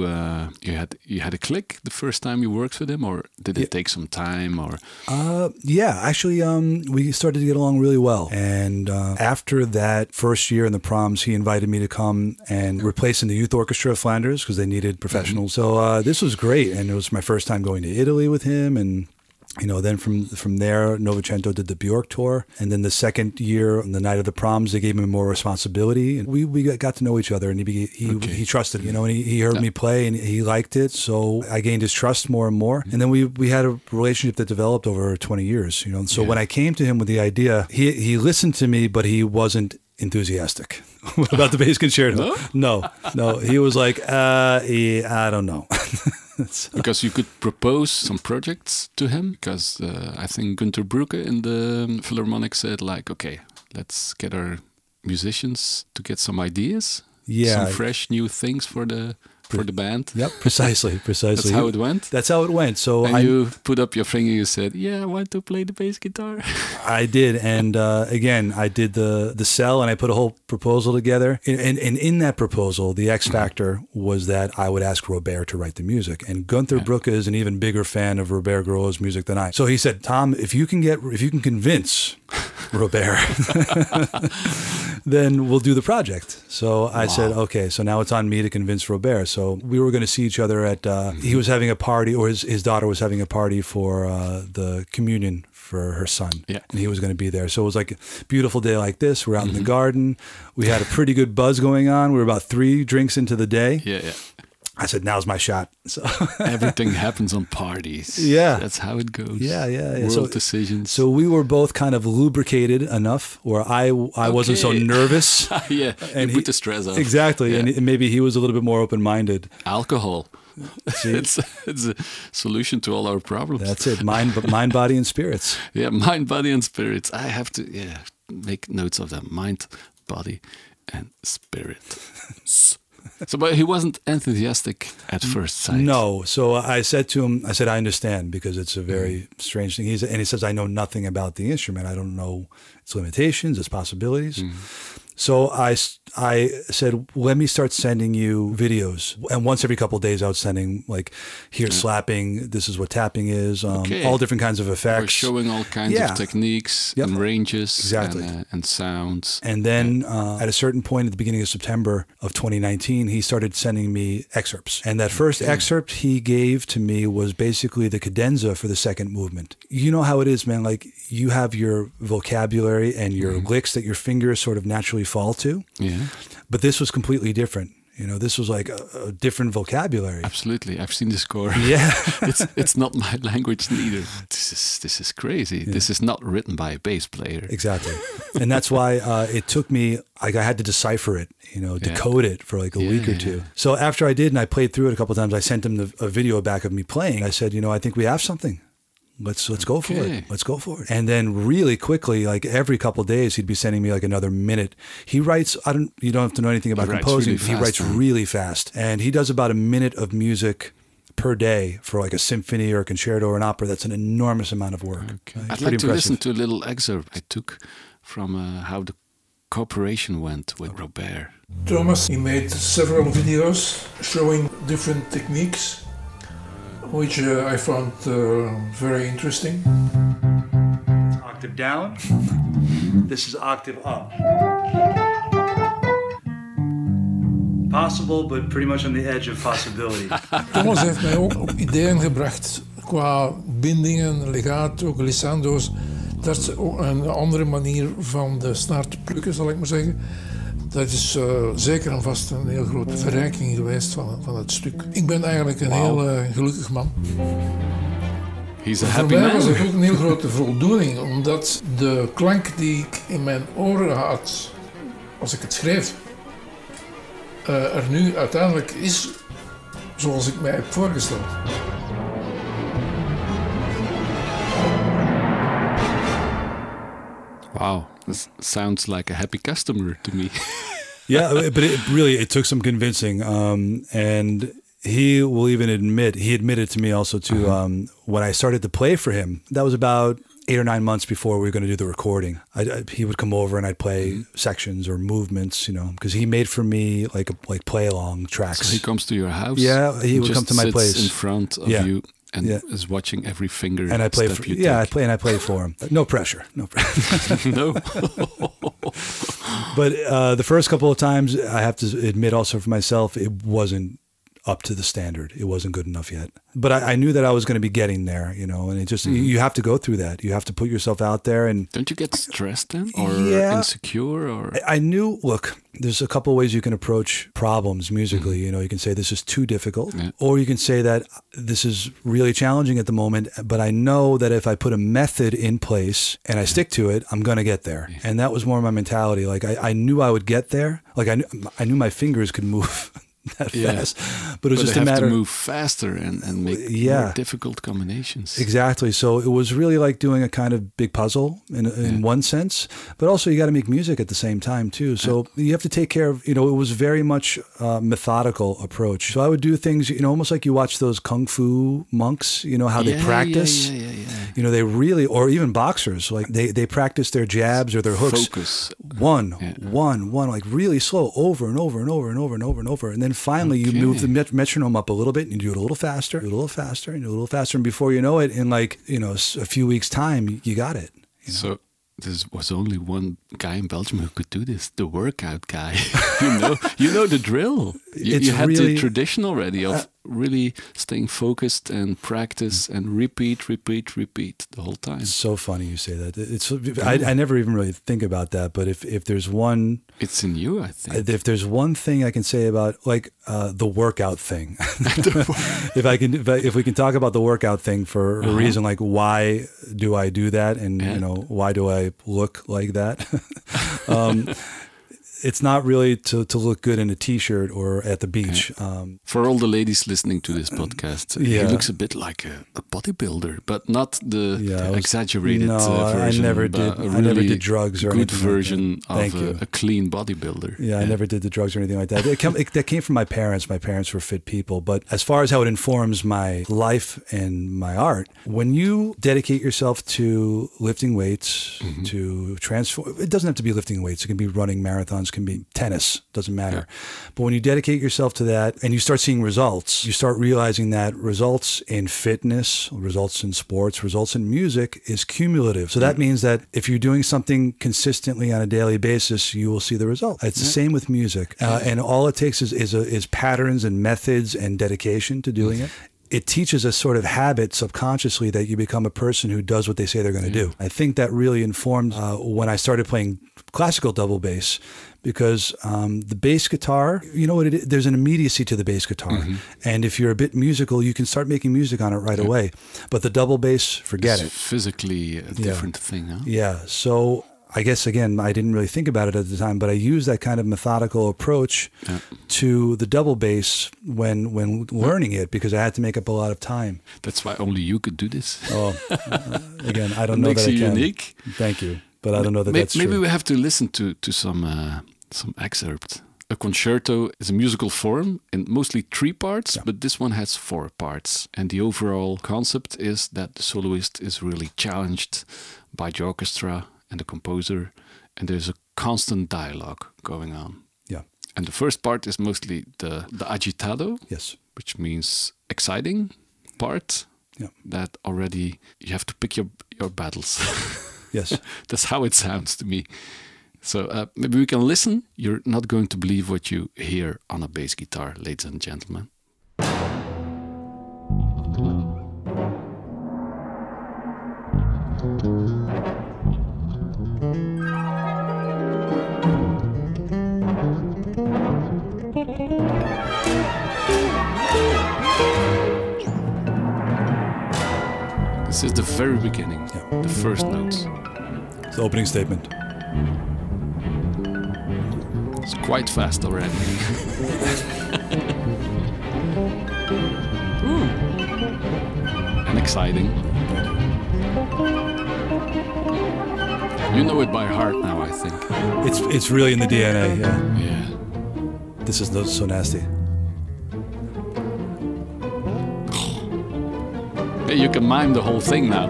had a click the first time you worked with him, or did it take some time? Or actually, we started to get along really well. And after that first year in the Proms, he invited me to come and replace in the Youth Orchestra of Flanders because they needed professionals. So this was great, and it was my first time going to Italy with him. And then from there, Novecento did the Bjork tour. And then the second year, on the night of the Proms, they gave him more responsibility. And we got to know each other, and he trusted, and he heard me play, and he liked it. So I gained his trust more and more. And then we had a relationship that developed over 20 years, So when I came to him with the idea, he listened to me, but he wasn't enthusiastic about the bass concerto. No. He was like, I don't know. Because you could propose some projects to him, because I think Günter Brücke in the Philharmonic said, like, okay, let's get our musicians to get some ideas, some fresh new things for the band. Yep, precisely. That's how it went? That's how it went. So you put up your finger, you said, I want to play the bass guitar. I did. And again, I did the sell, and I put a whole proposal together. And in that proposal, the X factor was that I would ask Robert to write the music. And Günter Brücke is an even bigger fan of Robert Gourlot's music than I. So he said, Tom, if you can convince Robert, then we'll do the project. So I said, okay, so now it's on me to convince Robert. So we were going to see each other at, he was having a party, or his daughter was having a party for the communion for her son. Yeah. And he was going to be there. So it was like a beautiful day like this. We're out in the garden. We had a pretty good buzz going on. We were about 3 drinks into the day. Yeah. I said, now's my shot. So everything happens on parties. Yeah. That's how it goes. Yeah. World decisions. So we were both kind of lubricated enough where I wasn't so nervous. Yeah. And you put the stress off. Exactly. Yeah. And maybe he was a little bit more open-minded. Alcohol. It's a solution to all our problems. That's it. Mind, body, and spirits. Yeah. Mind, body, and spirits. I have to make notes of that. Mind, body, and spirit. So, but he wasn't enthusiastic at first sight. No. So I said to him, I understand, because it's a very strange thing. And he says, I know nothing about the instrument. I don't know its limitations, its possibilities. So I said, let me start sending you videos. And once every couple of days, I was sending, like, here's slapping, this is what tapping is, all different kinds of effects. We're showing all kinds of techniques and ranges and sounds. And then at a certain point at the beginning of September of 2019, he started sending me excerpts. And that first excerpt he gave to me was basically the cadenza for the second movement. You know how it is, man. Like, you have your vocabulary and your licks that your fingers sort of naturally fall to. Yeah. But this was completely different. You know, this was like a different vocabulary. Absolutely. I've seen the score. Yeah. it's not my language neither. This is crazy. Yeah. This is not written by a bass player. Exactly. And that's why it took me, like, I had to decipher it, you know, decode it for like a week or two. So after I did, and I played through it a couple of times, I sent him a video back of me playing. I said, you know, I think we have something. Let's go for it. Let's go for it. And then really quickly, like every couple of days, he'd be sending me like another minute. He writes, you don't have to know anything about composing. He writes really fast. And he does about a minute of music per day for like a symphony or a concerto or an opera. That's an enormous amount of work. Okay. I'd like to listen to a little excerpt I took from how the cooperation went with Robert. Thomas, he made several videos showing different techniques, which I found very interesting. Octave down. This is octave up. Possible, but pretty much on the edge of possibility. Thomas heeft mij ook op ideeën gebracht qua bindingen, legato, glissando's. Dat is ook een andere manier van de snaar te plukken, zal ik maar zeggen. Dat is zeker en vast een heel grote verrijking geweest van het stuk. Ik ben eigenlijk een heel gelukkig man. He's a happy man. Voor mij was het ook een heel grote voldoening, omdat de klank die ik in mijn oren had als ik het schreef, er nu uiteindelijk is zoals ik mij heb voorgesteld. Wow, this sounds like a happy customer to me. Yeah, but it took some convincing. And he will even admitted to me also too, when I started to play for him, that was about 8 or 9 months before we were going to do the recording. He would come over and I'd play sections or movements, you know, because he made for me like play along tracks. So he comes to your house? Yeah, he would come to my place. In front of you. And is watching every finger and I play step you take. Yeah, I play for him. No pressure. No. But the first couple of times, I have to admit also for myself, it wasn't up to the standard. It wasn't good enough yet. But I knew that I was going to be getting there, you know, and it just, you have to go through that. You have to put yourself out there. And don't you get stressed then or insecure? Or I knew, look, there's a couple of ways you can approach problems musically. You know, you can say this is too difficult, or you can say that this is really challenging at the moment, but I know that if I put a method in place and I stick to it, I'm going to get there. Yeah. And that was more my mentality. Like I knew I would get there. Like I knew my fingers could move that fast, but it was just a matter to move faster and make more difficult combinations. Exactly. So it was really like doing a kind of big puzzle in one sense, but also you got to make music at the same time too. So you have to take care of, you know, it was very much a methodical approach. So I would do things, you know, almost like you watch those kung fu monks, you know, how they practice, you know, they really, or even boxers, like they practice their jabs or their hooks. Focus. One, like really slow over and over and over and over and over and over. And then finally you move the metronome up a little bit and you do it a little faster, and do a little faster. And before you know it, in like, you know, a few weeks time, you got it. You know? So there was only one guy in Belgium who could do this, the workout guy. you know the drill. You had really, the tradition already of really staying focused and practice and repeat the whole time. It's so funny you say that. It's I never even really think about that, but if there's one, it's in you, I think. If there's one thing I can say about like the workout thing, if we can talk about the workout thing for a reason, like why do I do that, and you know, why do I look like that? it's not really to look good in a t-shirt or at the beach. For all the ladies listening to this podcast, he looks a bit like a bodybuilder, but not the exaggerated version. I never did. I never did drugs or good anything version like of a clean bodybuilder. Yeah, I never did the drugs or anything like that. That came from my parents. My parents were fit people. But as far as how it informs my life and my art, when you dedicate yourself to lifting weights, to transform, it doesn't have to be lifting weights. It can be running marathons, can be tennis, doesn't matter. Yeah. But when you dedicate yourself to that and you start seeing results, you start realizing that results in fitness, results in sports, results in music is cumulative. So that means that if you're doing something consistently on a daily basis, you will see the result. It's the same with music. And all it takes is patterns and methods and dedication to doing it. It teaches a sort of habit subconsciously that you become a person who does what they say they're going to do. I think that really informed when I started playing classical double bass, because the bass guitar, you know what it is? There's an immediacy to the bass guitar. And if you're a bit musical, you can start making music on it right away. But the double bass, forget it. Physically a different thing, huh? Yeah. So I guess, again, I didn't really think about it at the time, but I used that kind of methodical approach to the double bass when learning it, because I had to make up a lot of time. That's why only you could do this. Oh, again, I don't know that I can. Makes you unique. Thank you, but I don't know that that's true. Maybe we have to listen to some excerpt. A concerto is a musical form in mostly 3 parts, but this one has 4 parts. And the overall concept is that the soloist is really challenged by the orchestra and the composer, and there's a constant dialogue going on. Yeah. And the first part is mostly the agitado, which means exciting part. Yeah. That already you have to pick your battles. Yes. That's how it sounds to me. So maybe we can listen. You're not going to believe what you hear on a bass guitar, ladies and gentlemen. This is the very beginning, the first notes. It's the opening statement. It's quite fast already. And exciting. You know it by heart now, I think. It's really in the DNA, Yeah. This is so nasty. Hey, you can mime the whole thing now.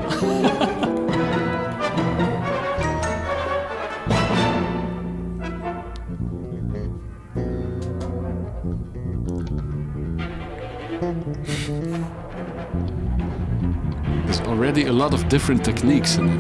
There's already a lot of different techniques in it.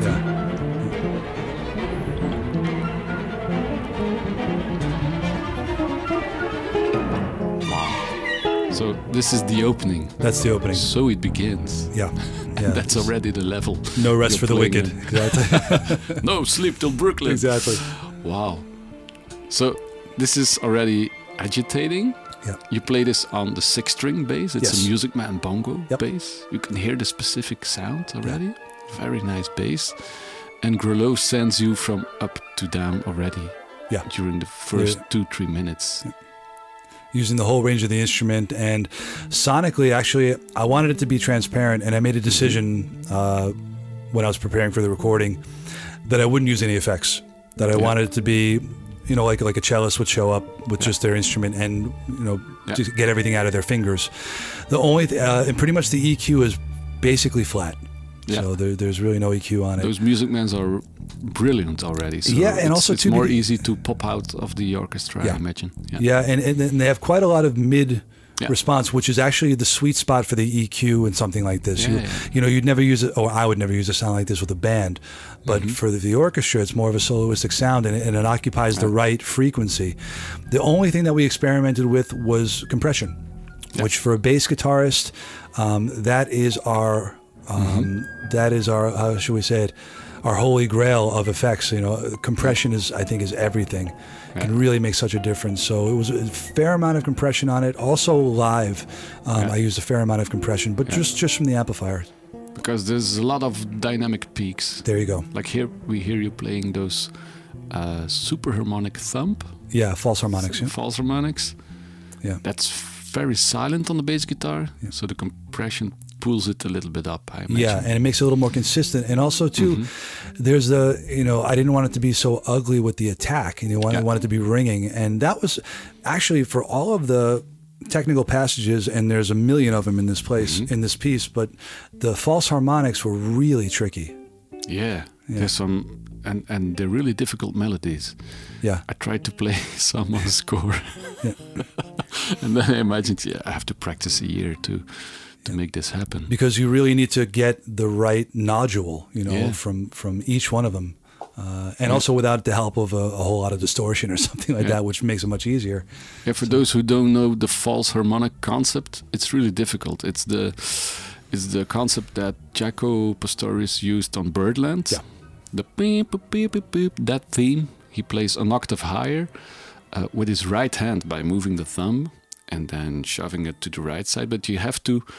Wow. So this is the opening. That's the opening. So it begins. Yeah. That's already the level. No rest for the wicked. Exactly. No sleep till Brooklyn. Exactly. Wow. So this is already agitating. Yeah. You play this on the 6-string bass. It's a Music Man bongo bass. You can hear the specific sound already. Yeah. Very nice bass. And Grelot sends you from up to down already. Yeah. During the first 2-3 minutes. Yeah. Using the whole range of the instrument, and sonically, actually, I wanted it to be transparent, and I made a decision when I was preparing for the recording that I wouldn't use any effects. That I wanted it to be, you know, like a cellist would show up with just their instrument and, you know, just get everything out of their fingers. The only and pretty much the EQ is basically flat. Yeah. So there's really no EQ on it. Those Music Mans are brilliant already. So and also it's more easy to pop out of the orchestra, I imagine. Yeah, and they have quite a lot of mid response, which is actually the sweet spot for the EQ in something like this. You know, you'd never use it, or I would never use a sound like this with a band, but for the orchestra, it's more of a soloistic sound, and it occupies the right frequency. The only thing that we experimented with was compression, which for a bass guitarist, that is our how should we say it, our holy grail of effects. You know, compression I think is everything. It can really make such a difference. So it was a fair amount of compression on it. Also live, I used a fair amount of compression, but just from the amplifiers. Because there's a lot of dynamic peaks. There you go. Like here, we hear you playing those superharmonic thumb. Yeah, false harmonics. Yeah. False harmonics. Yeah. That's very silent on the bass guitar, so the compression pulls it a little bit up, I imagine. Yeah, and it makes it a little more consistent. And also, too, there's the, I didn't want it to be so ugly with the attack. I wanted it to be ringing. And that was actually for all of the technical passages, and there's a million of them in this place, in this piece, but the false harmonics were really tricky. Yeah. There's some, and they're really difficult melodies. Yeah. I tried to play some on the score. And then I imagined, I have to practice a year to make this happen. Because you really need to get the right nodule, from each one of them. And also without the help of a whole lot of distortion or something like that, which makes it much easier. Yeah, for those who don't know the false harmonic concept, it's really difficult. It's the concept that Jaco Pastorius used on Birdland. Yeah. The beep, beep, beep, beep, that theme, he plays an octave higher with his right hand by moving the thumb and then shoving it to the right side. But you have to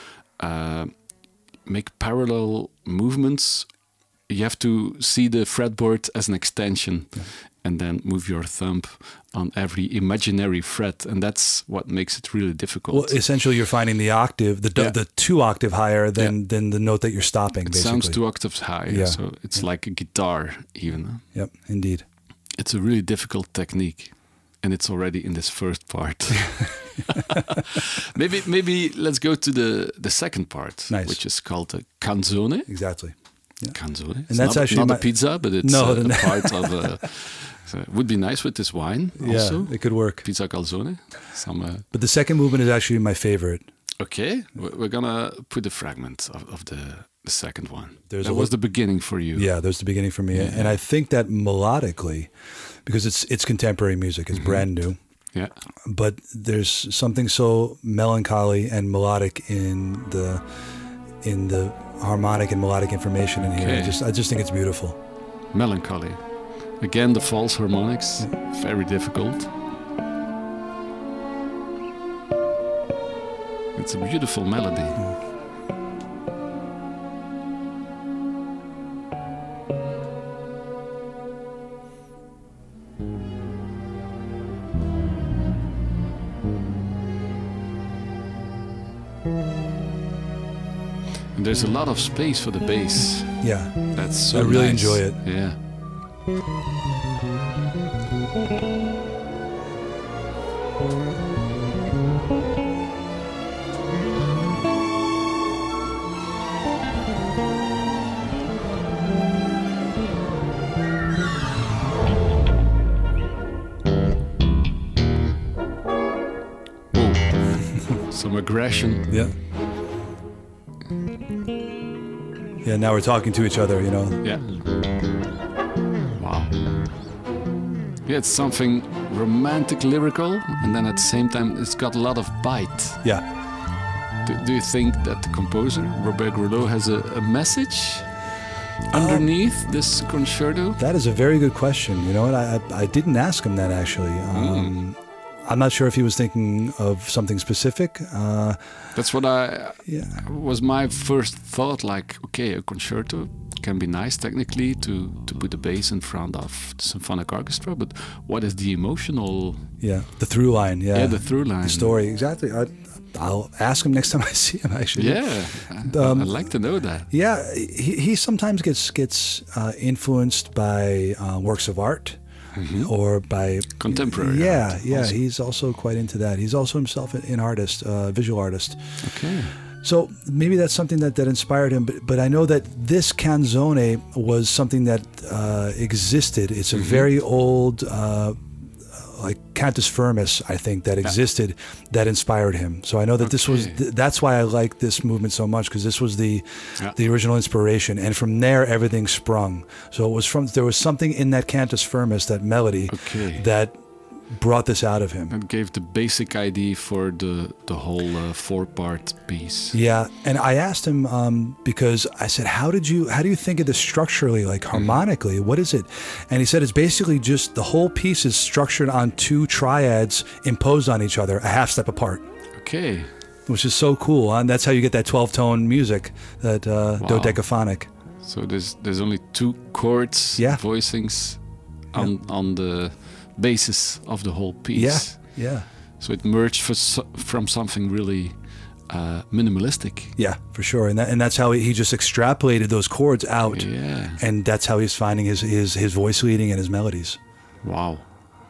make parallel movements. You have to see the fretboard as an extension and then move your thumb on every imaginary fret. And that's what makes it really difficult. Well, essentially, you're finding the octave, the 2 octave higher than the note that you're stopping, it basically. Sounds 2 octaves higher, so it's like a guitar even. Yep, indeed. It's a really difficult technique. And it's already in this first part. maybe let's go to the second part, which is called the canzone. Exactly. Yeah. Canzone. And it's that's actually not a pizza, but it's a part of. So it would be nice with this wine. Also. Yeah, it could work. Pizza calzone. But the second movement is actually my favorite. Okay, we're gonna put a fragment of the second one. That was the beginning for you. Yeah, there's the beginning for me, and I think that melodically, because it's contemporary music, it's brand new. Yeah. But there's something so melancholy and melodic in the harmonic and melodic information in here. I just think it's beautiful. Melancholy. Again, the false harmonics, very difficult. It's a beautiful melody. And there's a lot of space for the bass. Yeah. That's so I really nice. enjoy it. Yeah. Some aggression. Yeah. Yeah, now we're talking to each other, Yeah. Wow. Yeah, it's something romantic, lyrical, and then at the same time, it's got a lot of bite. Yeah. Do you think that the composer, Robert Grouleau, has a message underneath this concerto? That is a very good question. You know what? I didn't ask him that, actually. I'm not sure if he was thinking of something specific. That's what was my first thought. Like, okay, a concerto can be nice technically to put the bass in front of the symphonic orchestra, but what is the emotional? Yeah, the through line. Yeah, the through line. The story, exactly. I'll ask him next time I see him. Actually, yeah, I'd like to know that. Yeah, he sometimes gets influenced by works of art. Or by contemporary art. Also. He's also quite into that. He's also himself an artist, visual artist. Okay. So maybe that's something that inspired him. But I know that this canzone was something that existed. It's a very old, like Cantus Firmus, I think, that existed that inspired him. So I know that this was that's why I like this movement so much, because this was the original inspiration, and from there everything sprung. So it was there was something in that Cantus Firmus, that melody, that brought this out of him. And gave the basic idea for the whole 4-part piece. Yeah, and I asked him because I said, how do you think of this structurally, like harmonically? What is it? And he said it's basically just the whole piece is structured on 2 triads imposed on each other, a half step apart. Okay. Which is so cool, and that's how you get that 12-tone music, that dodecaphonic. So there's only 2 chords, voicings on the basis of the whole piece. Yeah. So it merged from something really minimalistic. Yeah, for sure. And that's how he just extrapolated those chords out. Yeah. And that's how he's finding his voice leading and his melodies. Wow.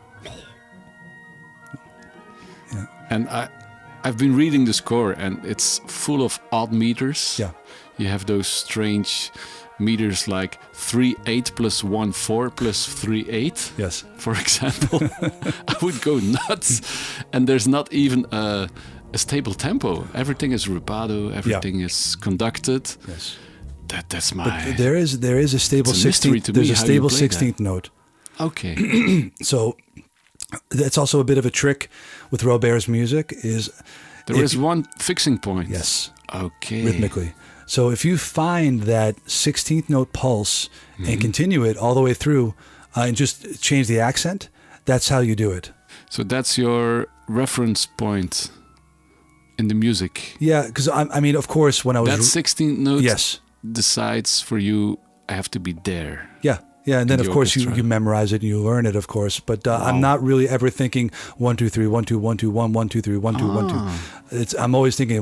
Yeah. And I've been reading the score, and it's full of odd meters. Yeah. You have those strange meters like 3/8 plus 1/4 plus 3/8. Yes. For example. I would go nuts. And there's not even a stable tempo. Everything is rubato. Everything is conducted. Yes. That's my. But there is a stable 16th. There's a stable 16th note. Okay. So that's also a bit of a trick with Robert's music. There is one fixing point. Yes. Okay. Rhythmically. So if you find that 16th note pulse and continue it all the way through and just change the accent, that's how you do it. So that's your reference point in the music. Yeah, because I mean, of course, when I was... That 16th note yes. decides for you, I have to be there. Yeah. Yeah, and then of course orchestra. you memorize it and you learn it, of course. But I'm not really ever thinking 1 2 3 1 2 1 2 1 1 2 3 1 2 1 2. I'm always thinking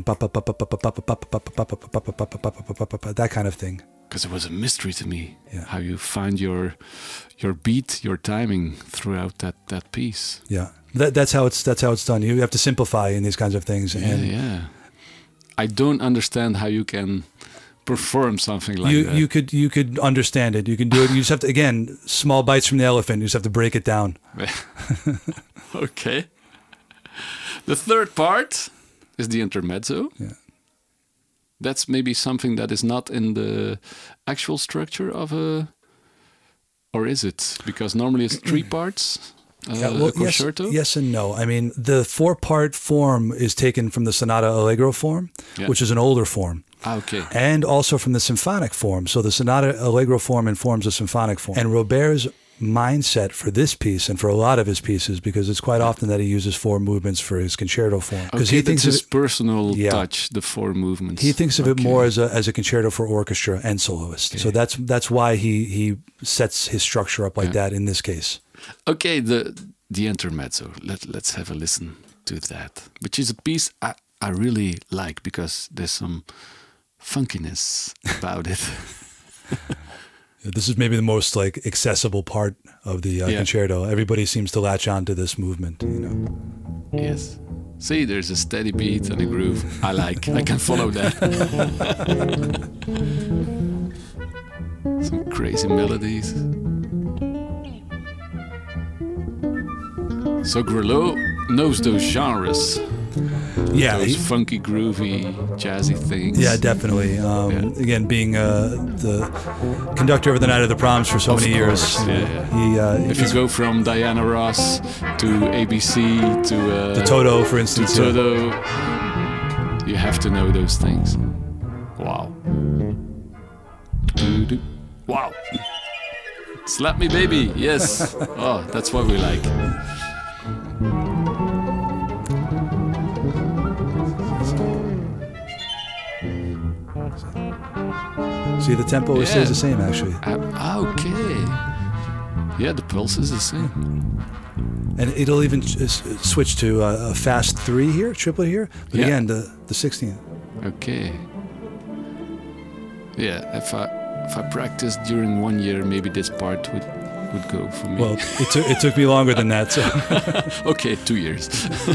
that kind of thing. Because it was a mystery to me Yeah. how you find your beat, your timing throughout that piece. Yeah, that's how it's done. You have to simplify in these kinds of things. And Yeah. I don't understand how you can perform something like that. You could understand it. You can do it. You just have to, again, small bites from the elephant. You just have to break it down. Okay. The third part is the intermezzo. Yeah. That's maybe something that is not in the actual structure of a... Or is it? Because normally it's 3 parts. A concerto? Yes and no. I mean, the 4-part form is taken from the Sonata Allegro form, which is an older form. Okay. And also from the symphonic form. So the Sonata Allegro form informs the symphonic form. And Robert's mindset for this piece and for a lot of his pieces, because it's quite often that he uses 4 movements for his concerto form. Because he thinks his personal touch, the 4 movements. He thinks of it more as a concerto for orchestra and soloist. Okay. So that's why he sets his structure up like that in this case. Okay, the intermezzo. Let's have a listen to that, which is a piece I really like because there's some funkiness about it. This is maybe the most like accessible part of the concerto. Everybody seems to latch on to this movement, you know. Yes. See, there's a steady beat and a groove. I can follow that. Some crazy melodies. So Grillo knows those genres. Yeah, those funky, groovy, jazzy things. Yeah, definitely. Again, being the conductor of the Night of the Proms for so many years. If you go from Diana Ross to ABC to Toto, for instance, to Toto, you have to know those things. Wow. Wow. Slap me, baby. Yes. Oh, that's what we like. See, the tempo stays the same, actually. Okay. Yeah, the pulse is the same. And it'll even switch to a fast 3 here, triplet here. But again, the 16th. Okay. Yeah, if I practiced during 1 year, maybe this part would go for me. Well, it took me longer than that. So. Okay, 2 years.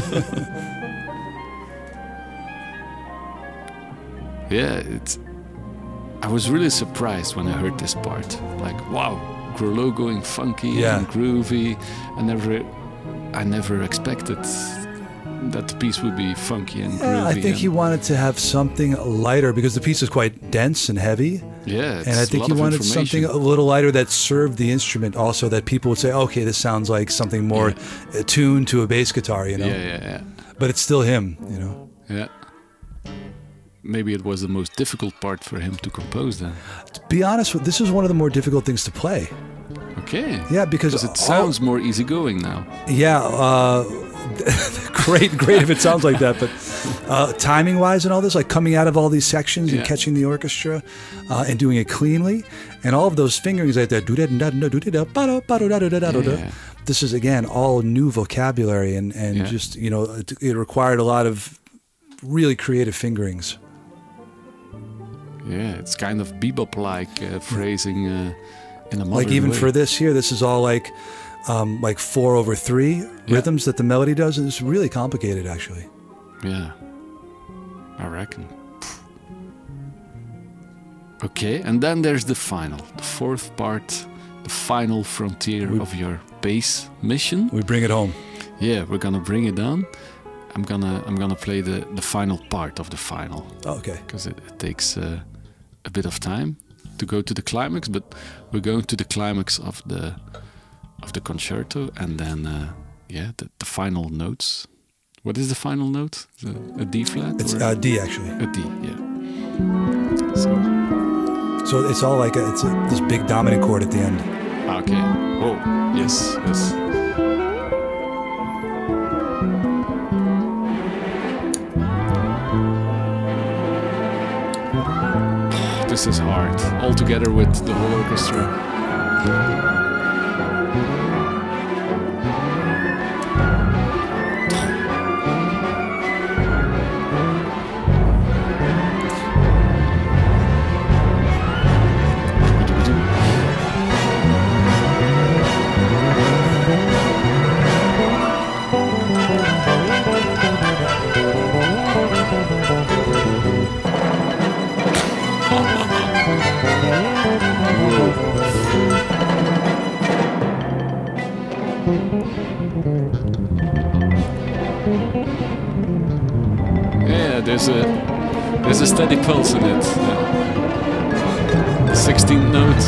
Yeah, I was really surprised when I heard this part. Like, wow, Grillo going funky and groovy. I never expected that the piece would be funky and groovy. I think he wanted to have something lighter because the piece is quite dense and heavy. Yeah, and I think he wanted something a little lighter that served the instrument also, that people would say, okay, this sounds like something more tuned to a bass guitar, you know? Yeah. But it's still him, you know? Yeah. Maybe it was the most difficult part for him to compose then. To be honest, this is one of the more difficult things to play. Okay. Yeah, because it sounds more easygoing now. Yeah, great if it sounds like that, but timing wise and all this, like coming out of all these sections and catching the orchestra and doing it cleanly, and all of those fingerings like that. This is again all new vocabulary and just it required a lot of really creative fingerings. Yeah, it's kind of bebop-like phrasing in a modern like even way. for this here, this is all like 4/3 rhythms that the melody does, and it's really complicated actually. Yeah, I reckon. Okay, and then there's the final, the fourth part, the final frontier of your bass mission. We bring it home. Yeah, we're gonna bring it on. I'm gonna play the final part of the final. Oh, okay. Because it takes a bit of time to go to the climax, but we're going to the climax of the concerto, and then the final notes. What is the final note? A D flat? It's D actually. A D, yeah. So it's all like this big dominant chord at the end. Okay. Oh, yes. This is hard, all together with the whole orchestra. Yeah, there's a steady pulse in it. The 16th note.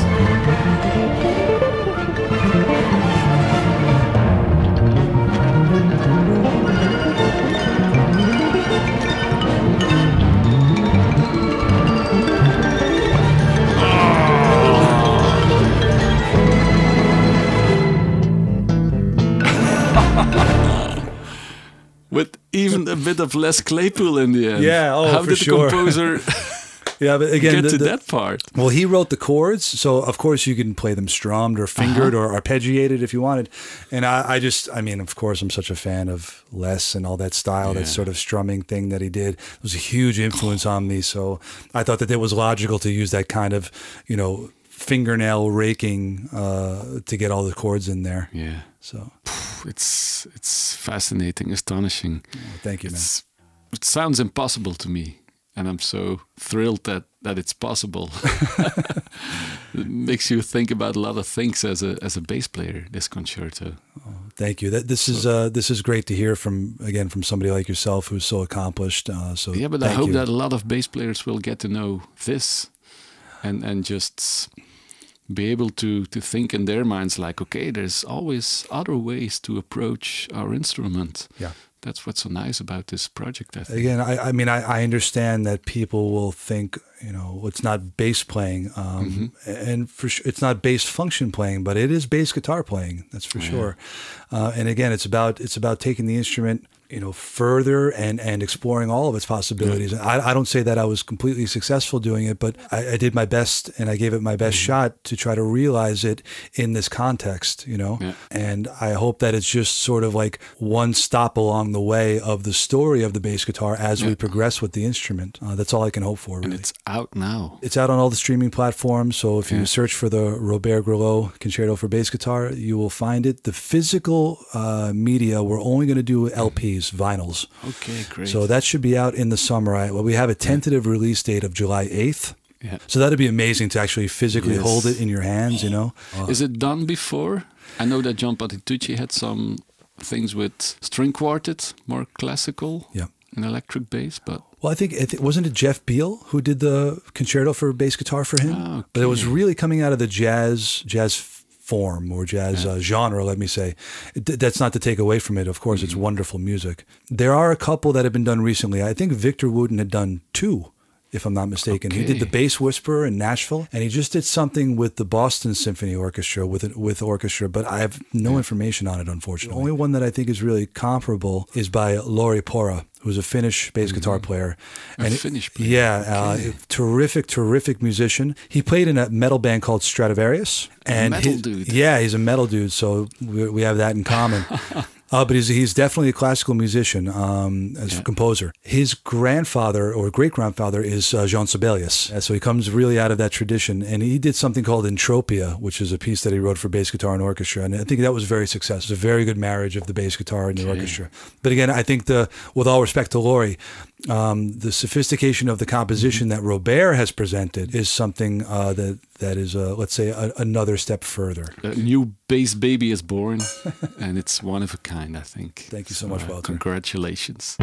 With even a bit of Les Claypool in the end. Yeah, How for did sure. the composer Yeah, but again, get to that part? Well, he wrote the chords, so of course you can play them strummed or fingered or arpeggiated if you wanted. And I mean, of course, I'm such a fan of Les and all that style, that sort of strumming thing that he did. It was a huge influence on me. So I thought that it was logical to use that kind of, fingernail raking to get all the chords in there. Yeah. So it's fascinating, astonishing. oh, thank you, man. It sounds impossible to me, and I'm so thrilled that it's possible. It makes you think about a lot of things as a bass player, this concerto. Oh, thank you. This is great to hear from somebody like yourself who's so accomplished. Yeah, but I hope that a lot of bass players will get to know this and just be able to think in their minds like, okay, there's always other ways to approach our instrument. Yeah. That's what's so nice about this project, I think. Again, I mean, I understand that people will think, it's not bass playing, and for sure, it's not bass function playing, but it is bass guitar playing. That's for sure. And again, it's about taking the instrument, further and exploring all of its possibilities. I don't say that I was completely successful doing it, but I did my best and I gave it my best shot to try to realize it in this context, And I hope that it's just sort of like one stop along the way of the story of the bass guitar as we progress with the instrument. That's all I can hope for, really. And it's out now. It's out on all the streaming platforms. So if you search for the Robert Grillo Concerto for Bass Guitar, you will find it. The physical media, we're only going to do LPs, vinyls. Okay, great. So that should be out in the summer. We have a tentative release date of July 8th. Yeah. So that'd be amazing to actually physically hold it in your hands, Is it done before? I know that John Patitucci had some things with string quartet, more classical, and electric bass, but... Well, I think wasn't it Jeff Beal who did the concerto for bass guitar for him? Oh, okay. But it was really coming out of the jazz form or jazz genre, let me say. That's not to take away from it. Of course, it's wonderful music. There are a couple that have been done recently. I think Victor Wooten had done 2 if I'm not mistaken. Okay. He did the Bass Whisperer in Nashville, and he just did something with the Boston Symphony Orchestra with orchestra, but I have no information on it, unfortunately. The only one that I think is really comparable is by Lauri Pora, who's a Finnish bass guitar player. Finnish player. Yeah, terrific musician. He played in a metal band called Stradivarius. And dude. Yeah, he's a metal dude, so we have that in common. But he's definitely a classical musician as a composer. His grandfather or great-grandfather is Jean Sibelius. So he comes really out of that tradition. And he did something called Entropia, which is a piece that he wrote for bass guitar and orchestra. And I think that was very successful. It was a very good marriage of the bass guitar and the orchestra. But again, I think with all respect to Lauri, the sophistication of the composition that Robert has presented is something that is, let's say, another step further. A new bass baby is born, and it's one of a kind, I think. Thank you so much, Walter. Congratulations.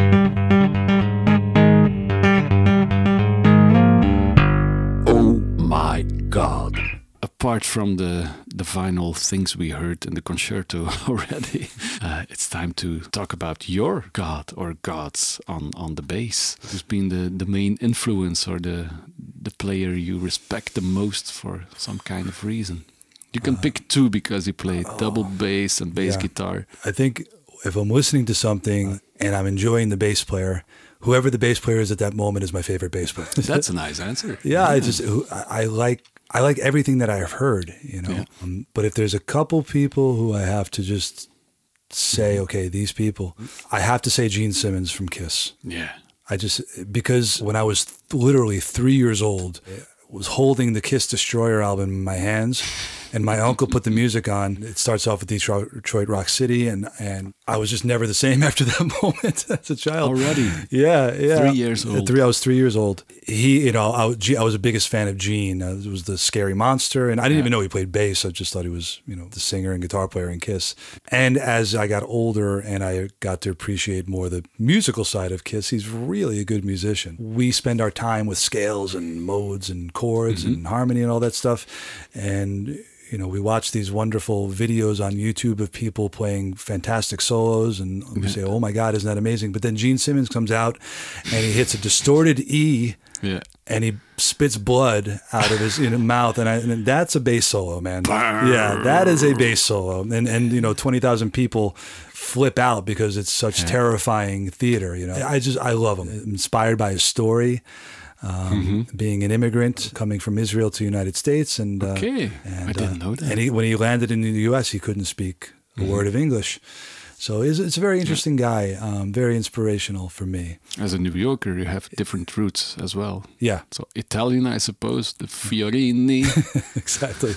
Oh my God. Apart from the final things we heard in the concerto already, it's time to talk about your god or gods on the bass. Who's been the main influence or the player you respect the most for some kind of reason? You can pick two because you play double bass and bass guitar. I think if I'm listening to something and I'm enjoying the bass player, whoever the bass player is at that moment is my favorite bass player. That's a nice answer. Yeah. I like everything that I've heard, you know. Yeah. But if there's a couple people who I have to just say, okay, these people, I have to say Gene Simmons from Kiss. Yeah. Because when I was literally 3 years old, I was holding the Kiss Destroyer album in my hands, and my uncle put the music on. It starts off with Detroit Rock City, and I was just never the same after that moment as a child. Already? Yeah. 3 years old. I was 3 years old. I was the biggest fan of Gene. It was the Scary Monster, and I didn't even know he played bass. I just thought he was, the singer and guitar player in Kiss. And as I got older and I got to appreciate more the musical side of Kiss, he's really a good musician. We spend our time with scales and modes and chords and harmony and all that stuff, and we watch these wonderful videos on YouTube of people playing fantastic solos, and we say, oh my God, isn't that amazing? But then Gene Simmons comes out and he hits a distorted E, and he spits blood out of his mouth, and that's a bass solo, man. Yeah, that is a bass solo. And 20,000 people flip out because it's such terrifying theater. I love him. I'm inspired by his story. Being an immigrant coming from Israel to the United States, and I didn't know that. And when he landed in the U.S., he couldn't speak a word of English. So it's a very interesting guy, very inspirational for me. As a New Yorker, you have different roots as well. Yeah. So Italian, I suppose, the Fiorini. Exactly.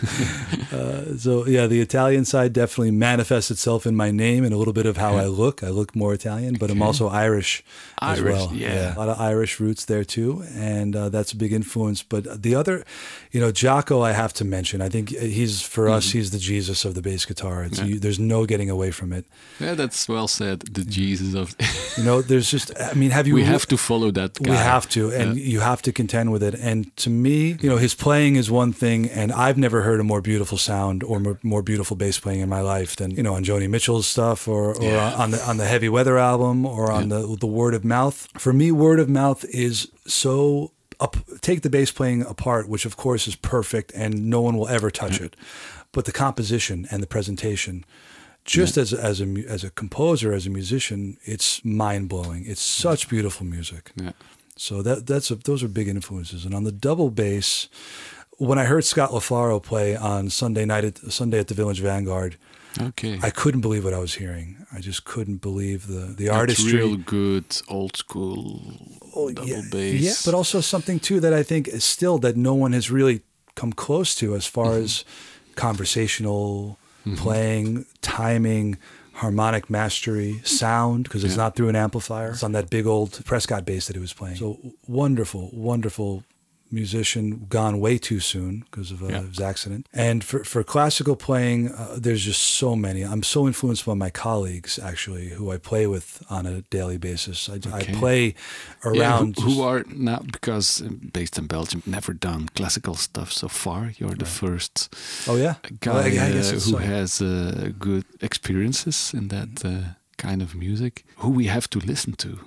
The Italian side definitely manifests itself in my name and a little bit of how I look. I look more Italian, but I'm also Irish as well. Yeah. A lot of Irish roots there too, and that's a big influence. But the other, Jaco, I have to mention. I think for us, he's the Jesus of the bass guitar. There's no getting away from it. Yeah, that's well said. The Jesus of... there's just, we have to follow that guy. We have to, and you have to contend with it. And to me, his playing is one thing, and I've never heard a more beautiful sound or more beautiful bass playing in my life than, on Joni Mitchell's stuff or on the Heavy Weather album or on the Word of Mouth. For me, Word of Mouth is so... take the bass playing apart, which of course is perfect and no one will ever touch it. But the composition and the presentation... Just as a composer, as a musician, it's mind-blowing. It's such beautiful music. Yeah. So those are big influences. And on the double bass, when I heard Scott LaFaro play on Sunday at the Village Vanguard, I couldn't believe what I was hearing. I just couldn't believe the artistry. Real good old school double bass. Yeah, but also something too that I think is still that no one has really come close to as far as conversational playing, timing, harmonic mastery, sound, because it's not through an amplifier. It's on that big old Prescott bass that he was playing. So wonderful, wonderful musician, gone way too soon because of his accident. And for classical playing, there's just so many. I'm so influenced by my colleagues, actually, who I play with on a daily basis. I play around... who are now, because based in Belgium, never done classical stuff so far. You're the first guy who has good experiences in that kind of music. Who we have to listen to.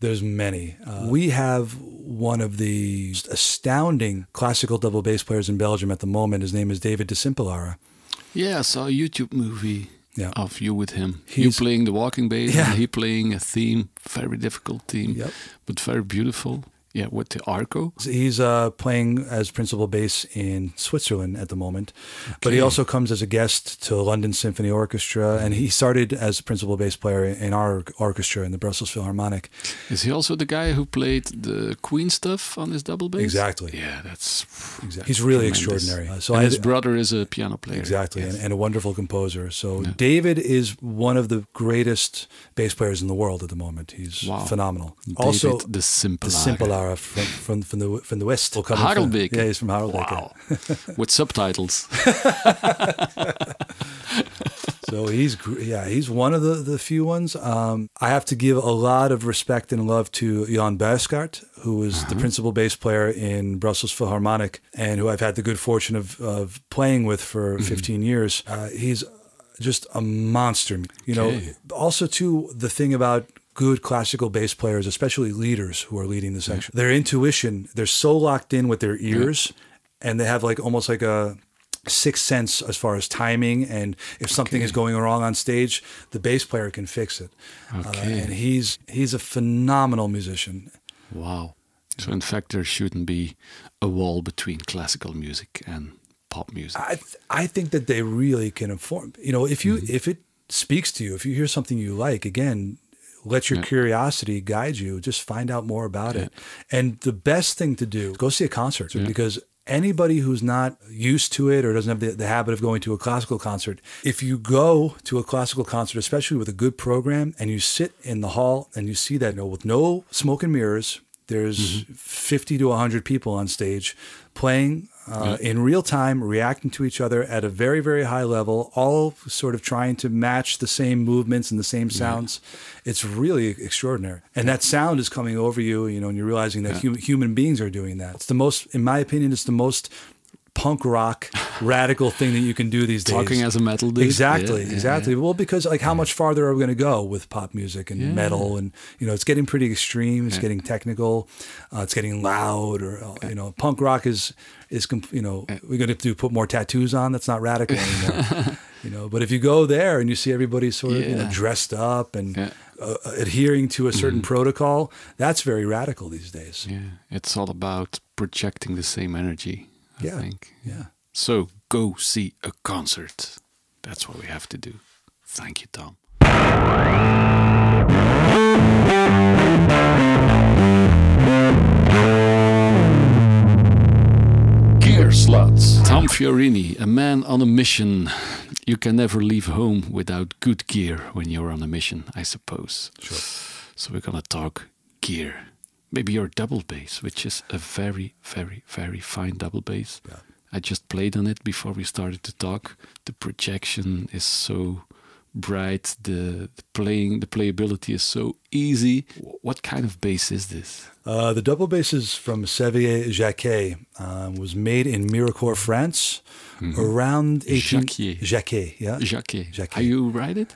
There's many. We have one of the astounding classical double bass players in Belgium at the moment. His name is David de Simpelara. Yeah, I saw a YouTube movie of you with him. You He's- playing the walking bass Yeah. and he playing a theme, very difficult theme, Yep. but very beautiful. Yeah, with the arco. He's playing as principal bass in Switzerland at the moment, but he also comes as a guest to London Symphony Orchestra, and he started as a principal bass player in our orchestra in the Brussels Philharmonic. Is he also the guy who played the Queen stuff on his double bass? Exactly. Yeah, that's Exactly. He's really tremendous. extraordinary. And his brother is a piano player. Exactly, Yes. and a wonderful composer. So David is one of the greatest bass players in the world at the moment. He's phenomenal. David Also, de Simpelara. the Simpelara from the West. Harelbeke. Yeah, he's from Harelbeke. Wow. With subtitles. So he's one of the few ones. I have to give a lot of respect and love to Jan Buiskaert, who is the principal bass player in Brussels Philharmonic and who I've had the good fortune of playing with for 15 years. He's just a monster. You know, also too, the thing about good classical bass players, especially leaders who are leading the section, their intuition, they're so locked in with their ears and they have almost like a sixth sense as far as timing, and if something is going wrong on stage, the bass player can fix it. And he's a phenomenal musician. Wow. So in fact, there shouldn't be a wall between classical music and pop music. I think that they really can inform. You know, if it speaks to you, if you hear something you like, again, let your curiosity guide you. Just find out more about it. And the best thing to do is go see a concert, because anybody who's not used to it or doesn't have the habit of going to a classical concert, if you go to a classical concert, especially with a good program, and you sit in the hall and you see that with no smoke and mirrors, there's 50 to 100 people on stage playing in real time, reacting to each other at a very, very high level, all sort of trying to match the same movements and the same sounds. It's really extraordinary. And that sound is coming over you, and you're realizing that human beings are doing that. It's the most, in my opinion, it's the most punk rock radical thing that you can do these days. Talking as a metal dude. Exactly. Well, because how much farther are we going to go with pop music and metal, and it's getting pretty extreme. It's getting technical. It's getting loud. Or punk rock is we're going to put more tattoos on. That's not radical anymore. But if you go there and you see everybody sort of dressed up and adhering to a certain protocol, that's very radical these days. Yeah, it's all about projecting the same energy. I think. Yeah. So go see a concert. That's what we have to do. Thank you, Tom. Gear slots. Tom Fiorini, a man on a mission. You can never leave home without good gear when you're on a mission, I suppose. Sure. So we're going to talk gear. Maybe your double bass, which is a very, very, very fine double bass. Yeah. I just played on it before we started to talk. The projection is so bright. The playability is so easy. What kind of bass is this? The double bass is from Xavier Jacquet. Was made in Mirecourt, France, around 18... Jacquet, yeah. Jacquet. How you write it?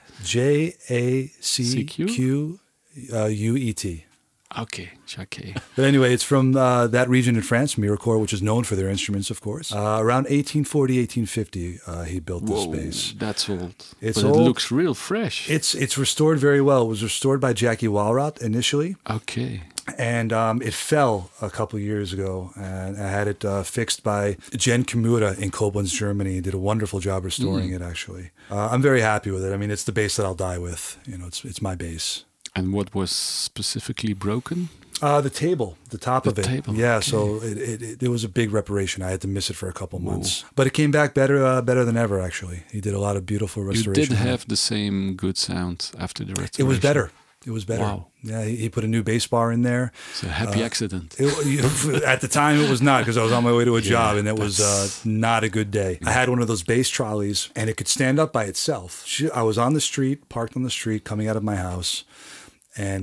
Jacquet. Okay, Jacquet. But anyway, it's from that region in France, Mirecourt, which is known for their instruments, of course. Around 1840, 1850, he built this bass. That's old. But old. It looks real fresh. It's restored very well. It was restored by Jackie Walrath initially. Okay. And it fell a couple years ago, and I had it fixed by Jen Kimura in Koblenz, Germany. He did a wonderful job restoring it, actually. I'm very happy with it. I mean, it's the bass that I'll die with. It's my bass. And what was specifically broken? The table, the top of it. Table, yeah, okay. so it was a big reparation. I had to miss it for a couple months. But it came back better than ever, actually. He did a lot of beautiful restoration. You did have the same good sound after the restoration. It was better. Wow. Yeah, he put a new bass bar in there. It's a happy accident. At the time, it was not, because I was on my way to a job, and it was not a good day. I had one of those bass trolleys, and it could stand up by itself. I was on the street, parked on the street, coming out of my house, And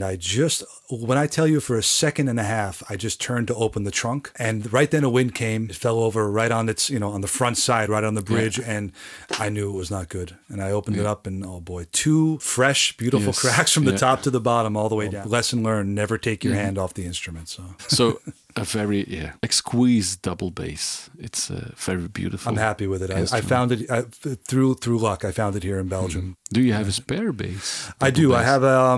when I tell you for a second and a half, I just turned to open the trunk, and right then a wind came. It fell over right on its, on the front side, right on the bridge, and I knew it was not good. And I opened it up, and oh boy, 2 fresh, beautiful cracks from the top to the bottom, all the way down. Lesson learned: never take your hand off the instrument. So a very exquisite double bass. It's very beautiful. I'm happy with it. I found it through luck. I found it here in Belgium. Do you have a spare bass? I do. Bass?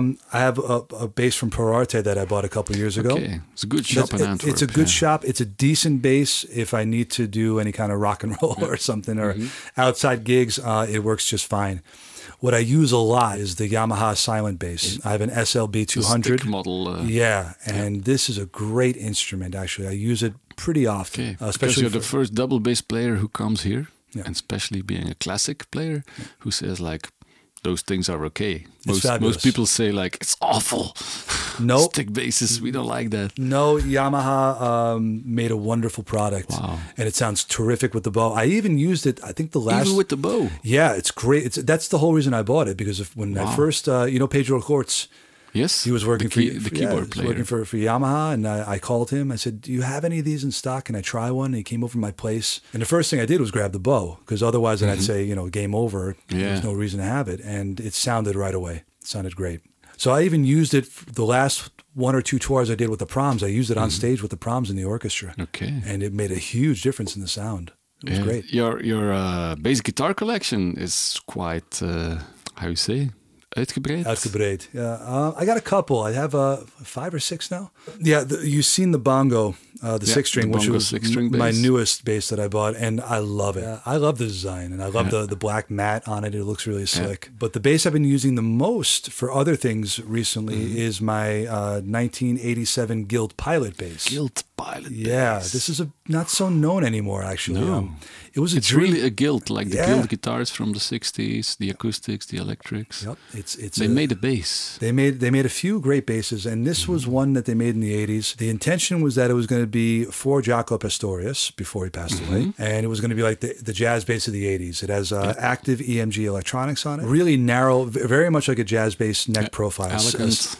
I have a bass from Perarte that I bought a couple of years ago. Okay, it's a good shop in Antwerp. It's a good shop. It's a decent bass if I need to do any kind of rock and roll or something, or outside gigs. It works just fine. What I use a lot is the Yamaha silent bass. I have an SLB 200 model. And this is a great instrument. Actually, I use it pretty often. Okay, especially you're the first double bass player who comes here, and especially being a classic player who says like, those things are okay. Most people say like, it's awful. Nope. Stick basses, we don't like that. No, Yamaha made a wonderful product. Wow. And it sounds terrific with the bow. I even used it, I think Even with the bow? Yeah, it's great. That's the whole reason I bought it, because when I first, Pedro Cortz, yes, he was working the keyboard player. Working for Yamaha, and I called him. I said, "Do you have any of these in stock? Can I try one?" And he came over to my place, and the first thing I did was grab the bow, because otherwise, then I'd say, game over. There's no reason to have it, and it sounded right away. It sounded great. So I even used it the last 1 or 2 tours I did with the Proms. I used it on stage with the Proms in the orchestra. Okay, and it made a huge difference in the sound. It was great. Your bass guitar collection is quite how you say. Uitgebreid. Yeah, I got a couple. I have 5 or 6 now. Yeah, you've seen the bongo, the 6-string, which was my newest bass that I bought, and I love it. I love the design, and I love the black mat on it. It looks really slick. But the bass I've been using the most for other things recently is my 1987 Guild Pilot bass. Guild Pilot bass. Yeah, this is not so known anymore, actually. No. It's really a Guild, like the Guild guitars from the 60s, the acoustics, the electrics. Yep. They made a bass. They made a few great basses, and this was one that they made in the 80s. The intention was that it was going to be for Jaco Pastorius before he passed away, and it was going to be like the jazz bass of the 80s. It has active EMG electronics on it. Really narrow, very much like a jazz bass neck profile. Elegant.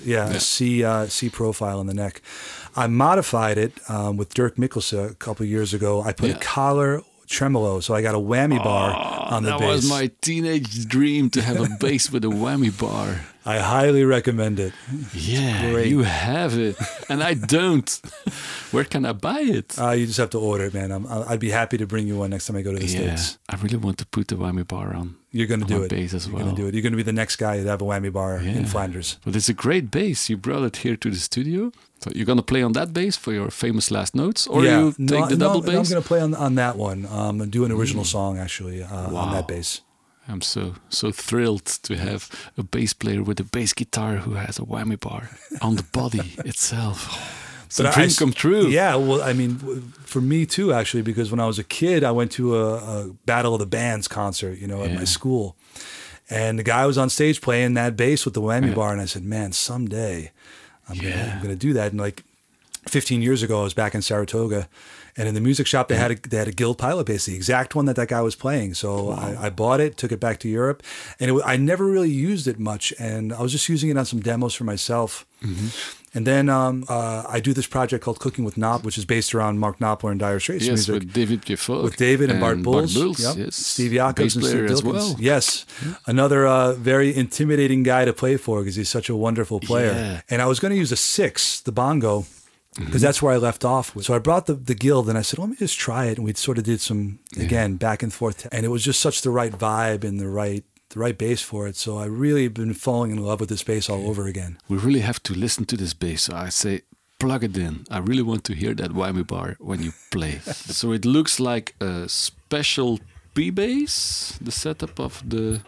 A C profile in the neck. I modified it with Dirk Mikkelsen a couple of years ago. I put a collar tremolo, so I got a whammy bar on the bass. That was my teenage dream, to have a bass with a whammy bar. I highly recommend it. Yeah, you have it, and I don't. Where can I buy it? You just have to order it, man. I'd be happy to bring you one next time I go to the States. I really want to put the whammy bar on. You're going to do it. Bass as well. You're going to do it. You're going to be the next guy to have a whammy bar in Flanders. But it's a great bass. You brought it here to the studio. So you're going to play on that bass for your famous last notes, or you take the double bass? No, I'm going to play on that one. And do an original song actually on that bass. I'm so thrilled to have a bass player with a bass guitar who has a whammy bar on the body itself. It's a dream come true. Yeah, well, I mean, for me too, actually, because when I was a kid, I went to a Battle of the Bands concert, at my school. And the guy was on stage playing that bass with the whammy bar, and I said, man, someday I'm gonna do that. And like 15 years ago, I was back in Saratoga, and in the music shop, they had a Guild Pilot bass, the exact one that guy was playing. So I bought it, took it back to Europe, and I never really used it much, and I was just using it on some demos for myself. And then I do this project called Cooking with Knopf, which is based around Mark Knopfler and Dire Straits music. With David Gefolk. With David and Bart Bulls. Yes. Steve Jacobs and Steve as Dilkens. well. Yes. Another very intimidating guy to play for, because he's such a wonderful player. Yeah. And I was going to use a 6, the bongo, because that's where I left off with. So I brought the Guild, and I said, let me just try it. And we sort of did some, again, back and forth. And it was just such the right vibe and the right bass for it. So I really have been falling in love with this bass all over again. We really have to listen to this bass. So I say, plug it in. I really want to hear that whammy bar when you play. So it looks like a special P-bass, the setup of the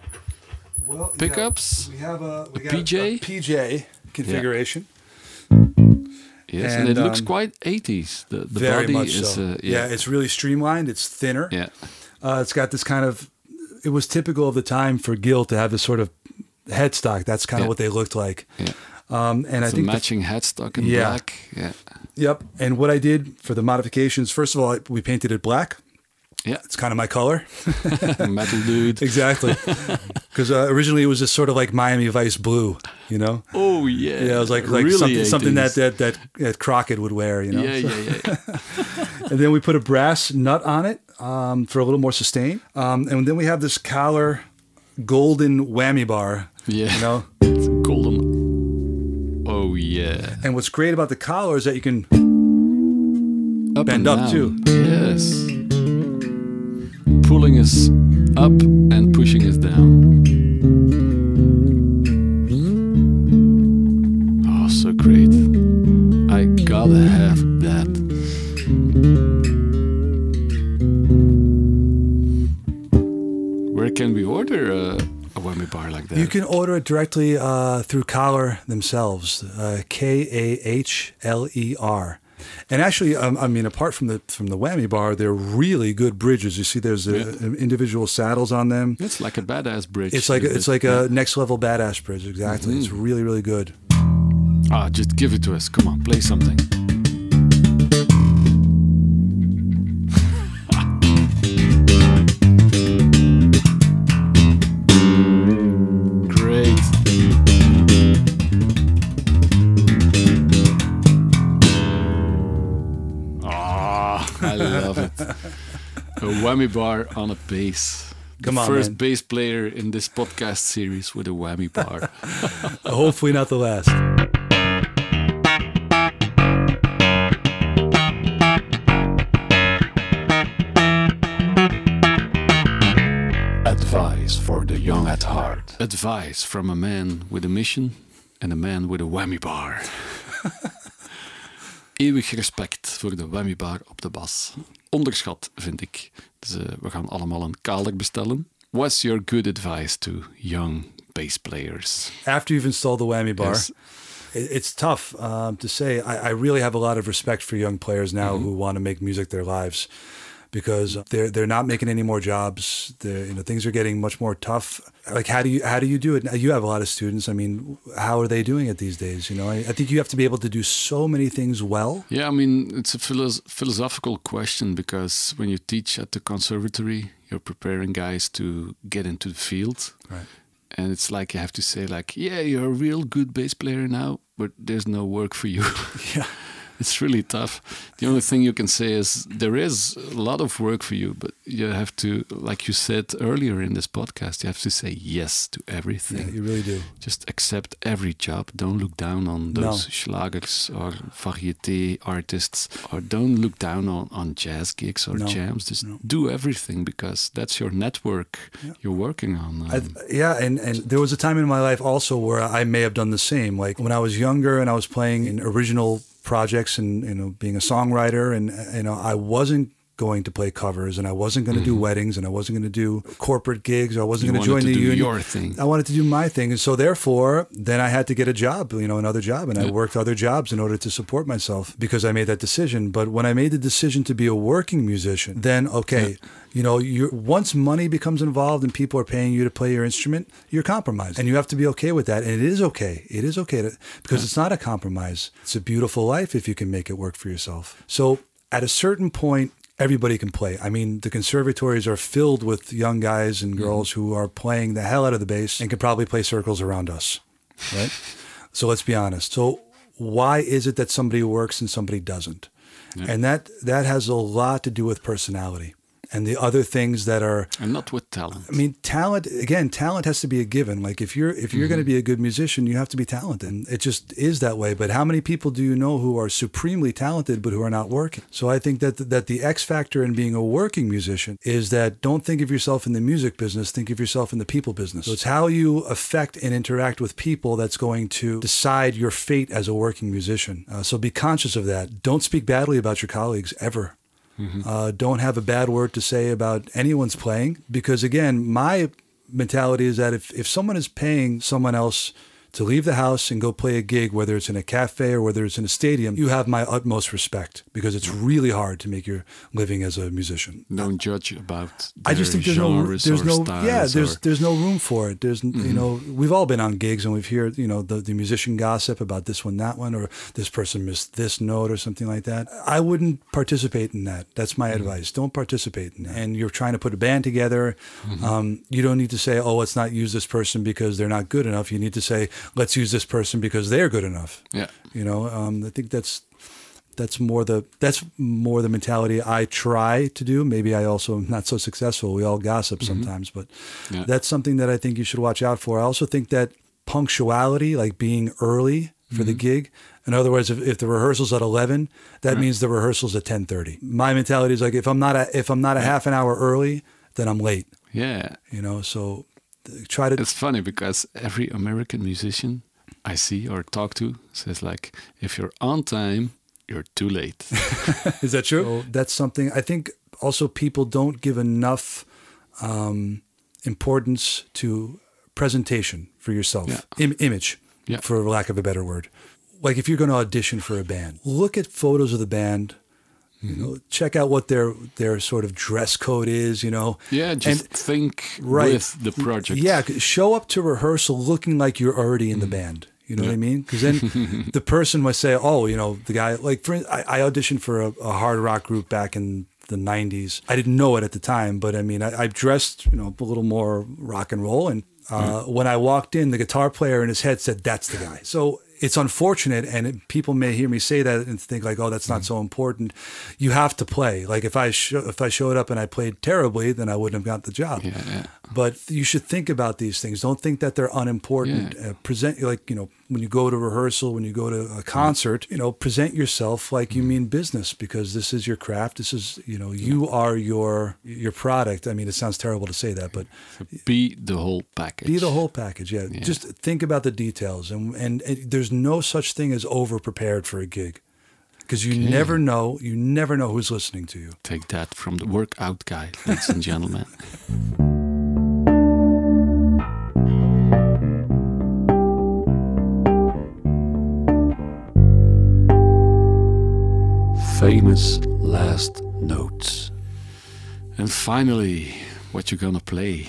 pickups. We have a PJ configuration. Yes, and it looks quite 80s. The very body much is, so. It's really streamlined. It's thinner. Yeah. It's got this kind of, it was typical of the time for Guild to have this sort of headstock. That's kind of what they looked like. Yeah. And I think matching headstock in black. Yeah. Yep. And what I did for the modifications, first of all, we painted it black. Yeah. It's kind of my color. Metal dude. Exactly. Because originally it was just sort of like Miami Vice blue. you know? Oh yeah. Yeah, it was like really something 80s. that Crockett would wear, you know? Yeah. And then we put a brass nut on it for a little more sustain. And then we have this Kahler golden whammy bar, Yeah. you know? It's golden. Oh yeah. And what's great about the collar is that you can Up bend and up down. too. Yes. Pulling us up and pushing us down. Oh, so great. I gotta have that. Where can we order a whammy bar like that? You can order it directly through Kahler themselves, Kahler. And actually, I mean, apart from the whammy bar, they're really good bridges. You see, there's individual saddles on them. It's like a badass bridge. It's like a next level badass bridge. Exactly. It's really, really good. Ah, just give it to us. Come on, play something. Great. I love it. A whammy bar on a bass. Come on, first man. bass player in this podcast series with a whammy bar. Hopefully not the last. Advice for the young at heart. Advice from a man with a mission and a man with a whammy bar. Eeuwig respect voor de whammy bar op de bas. Onderschat, vind ik. Dus we gaan allemaal een Kahler bestellen. What's your good advice to young bass players? After you've installed the whammy bar, Yes. it's tough to say. I really have a lot of respect for young players now who want to make music their lives, because they're not making any more jobs. Things are getting much more tough. Like how do you do it? You have a lot of students. I mean, how are they doing it these days? I think you have to be able to do so many things well. Yeah, I mean, it's a philosophical question, because when you teach at the conservatory, you're preparing guys to get into the field. Right. And it's like you have to say, like, yeah, you're a real good bass player now, but there's no work for you. Yeah. It's really tough. The only thing you can say is there is a lot of work for you, but you have to, like you said earlier in this podcast, you have to say yes to everything. Yeah, you really do. Just accept every job. Don't look down on those schlagers or variété artists, or don't look down on jazz gigs or jams. Just do everything, because that's your network you're working on. And there was a time in my life also where I may have done the same. Like when I was younger and I was playing in original projects and being a songwriter, and I wasn't going to play covers, and I wasn't going to do weddings, and I wasn't going to do corporate gigs, or I wasn't going to join the union. Your thing. I wanted to do my thing, and so therefore, then I had to get a job, another job, and I worked other jobs in order to support myself, because I made that decision. But when I made the decision to be a working musician, then once money becomes involved and people are paying you to play your instrument, you're compromised, and you have to be okay with that. And it is okay. It is okay because it's not a compromise. It's a beautiful life if you can make it work for yourself. So at a certain point, everybody can play. I mean, the conservatories are filled with young guys and girls who are playing the hell out of the bass and can probably play circles around us, right? So let's be honest. So why is it that somebody works and somebody doesn't? Yeah. And that has a lot to do with personality and the other things that are... And not with talent. I mean, talent has to be a given. Like if you're going to be a good musician, you have to be talented. And it just is that way. But how many people do you know who are supremely talented but who are not working? So I think that the X factor in being a working musician is that don't think of yourself in the music business, think of yourself in the people business. So it's how you affect and interact with people that's going to decide your fate as a working musician. So be conscious of that. Don't speak badly about your colleagues ever. Don't have a bad word to say about anyone's playing, because again, my mentality is that if someone is paying someone else to leave the house and go play a gig, whether it's in a cafe or whether it's in a stadium, you have my utmost respect, because it's really hard to make your living as a musician. Don't judge about I just think there's no room for it. There's we've all been on gigs and we've heard the musician gossip about this one, that one, or this person missed this note or something like that. I wouldn't participate in that. That's my advice. Don't participate in that. And you're trying to put a band together. You don't need to say, oh, let's not use this person because they're not good enough. You need to say, let's use this person because they're good enough. Yeah. You know, I think that's more the mentality I try to do. Maybe I also am not so successful. We all gossip sometimes, but that's something that I think you should watch out for. I also think that punctuality, like being early for the gig. In other words, if the rehearsal's at 11, that means the rehearsal's at 10:30. My mentality is like, if I'm not a half an hour early, then I'm late. Yeah. You know, so try to. It's funny because every American musician I see or talk to says like, if you're on time, you're too late. Is that true? So that's something I think also people don't give enough importance to presentation for yourself, image, for lack of a better word. Like if you're going to audition for a band, look at photos of the band. You know, check out what their sort of dress code is. You know, think with the project. Yeah, show up to rehearsal looking like you're already in the band. You know what I mean? Because then the person might say, "Oh, you know, the guy." Like, I auditioned for a hard rock group back in the 90s. I didn't know it at the time, but I mean, I dressed, you know, a little more rock and roll. And when I walked in, the guitar player in his head said, "That's the guy." So it's unfortunate, and people may hear me say that and think like, "Oh, that's not so important." You have to play. Like if I showed up and I played terribly, then I wouldn't have got the job. Yeah. But you should think about these things. Don't think that they're unimportant. Present, like, you know, when you go to rehearsal, when you go to a concert, you know, present yourself like you mean business, because this is your craft. This is, you know, you are your product. I mean, it sounds terrible to say that, but be the whole package. Be the whole package. Yeah. Just think about the details, and there's no such thing as over prepared for a gig. Because you never know who's listening to you. Take that from the workout guy, ladies and gentlemen. Famous last notes. And finally, what you gonna play?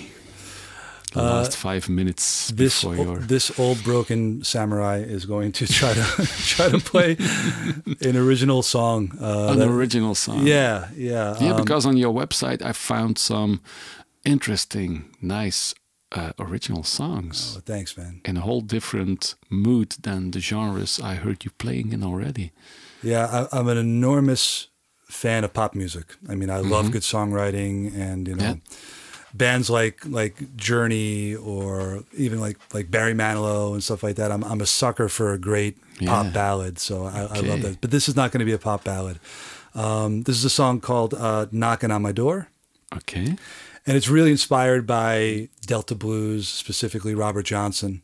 The last 5 minutes before this old broken samurai is going to try to play an original song. Original song. Yeah. Because on your website I found some interesting, nice original songs. Oh, thanks, man. In a whole different mood than the genres I heard you playing in already. Yeah, I'm an enormous fan of pop music. I mean, I love good songwriting, and you know. Bands like Journey, or even like Barry Manilow and stuff like that. I'm a sucker for a great pop ballad, so I love that. But this is not going to be a pop ballad. This is a song called "Knocking on My Door." Okay. And it's really inspired by Delta blues, specifically Robert Johnson.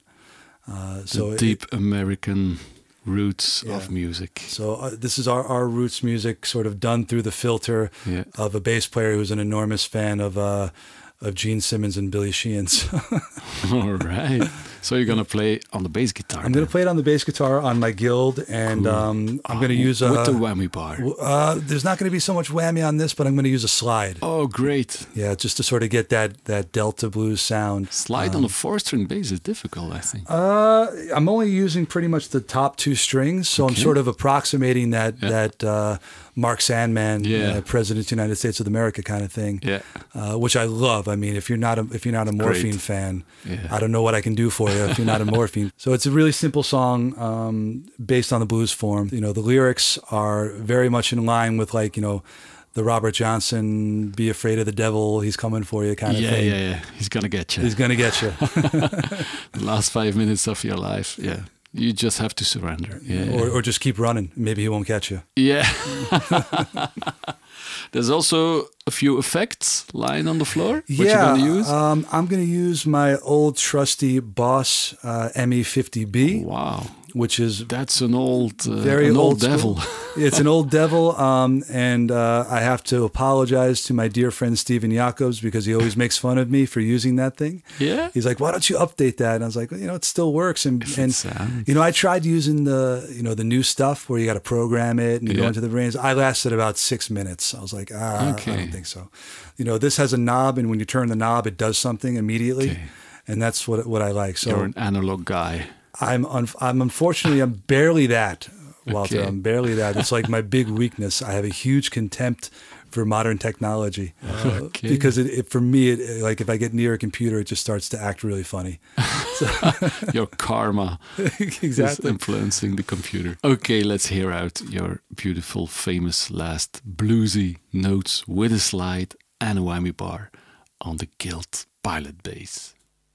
So deep American roots of music. So this is our roots music, sort of done through the filter of a bass player who's an enormous fan of Gene Simmons and Billy Sheehan's. All right. So you're going to play on the bass guitar. I'm going to play it on the bass guitar on my Guild, and I'm going to use with the whammy bar. There's not going to be so much whammy on this, but I'm going to use a slide. Oh, great. Yeah, just to sort of get that Delta blues sound. Slide on a 4-string bass is difficult, I think. I'm only using pretty much the top 2 strings, so I'm sort of approximating that Mark Sandman, President of the United States of America kind of thing, which I love. I mean, if you're not a Morphine fan, I don't know what I can do for you if you're not a Morphine. So it's a really simple song based on the blues form. You know, the lyrics are very much in line with, like, you know, the Robert Johnson, be afraid of the devil, he's coming for you kind of thing. Yeah. He's going to get you. He's going to get you. The last 5 minutes of your life, you just have to surrender. Or just keep running. Maybe he won't catch you. Yeah. There's also a few effects lying on the floor. What you going to use? I'm going to use my old trusty Boss ME50B. Wow. That's an old, very old devil. It's an old devil, and I have to apologize to my dear friend Steven Jacobs, because he always makes fun of me for using that thing. Yeah, he's like, "Why don't you update that?" And I was like, "Well, you know, it still works." And you know, I tried using the new stuff where you got to program it and you go into the range. I lasted about 6 minutes. I was like, I don't think so. You know, this has a knob, and when you turn the knob, it does something immediately, and that's what I like. So you're an analog guy. I'm unfortunately, I'm barely that Walter. Okay. I'm barely that. It's like my big weakness. I have a huge contempt for modern technology Okay. because it for me, like if I get near a computer, it just starts to act really funny. Your karma is Exactly. influencing the computer. Okay, let's hear out your beautiful, famous last bluesy notes with a slide and a whammy bar on the Guild Pilot bass.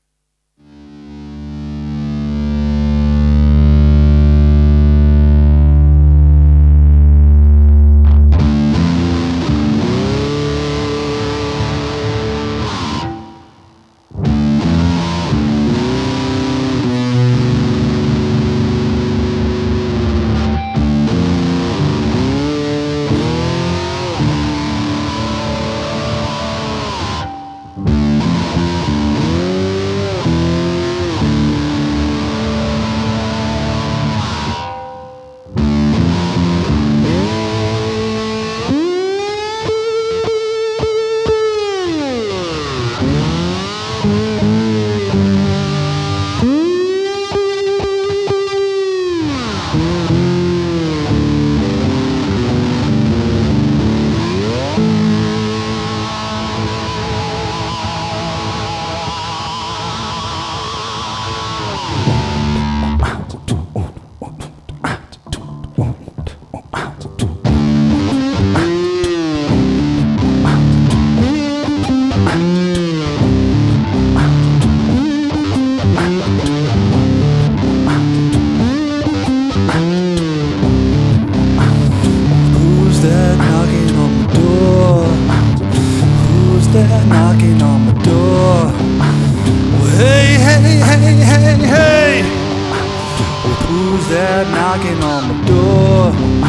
knocking on the door.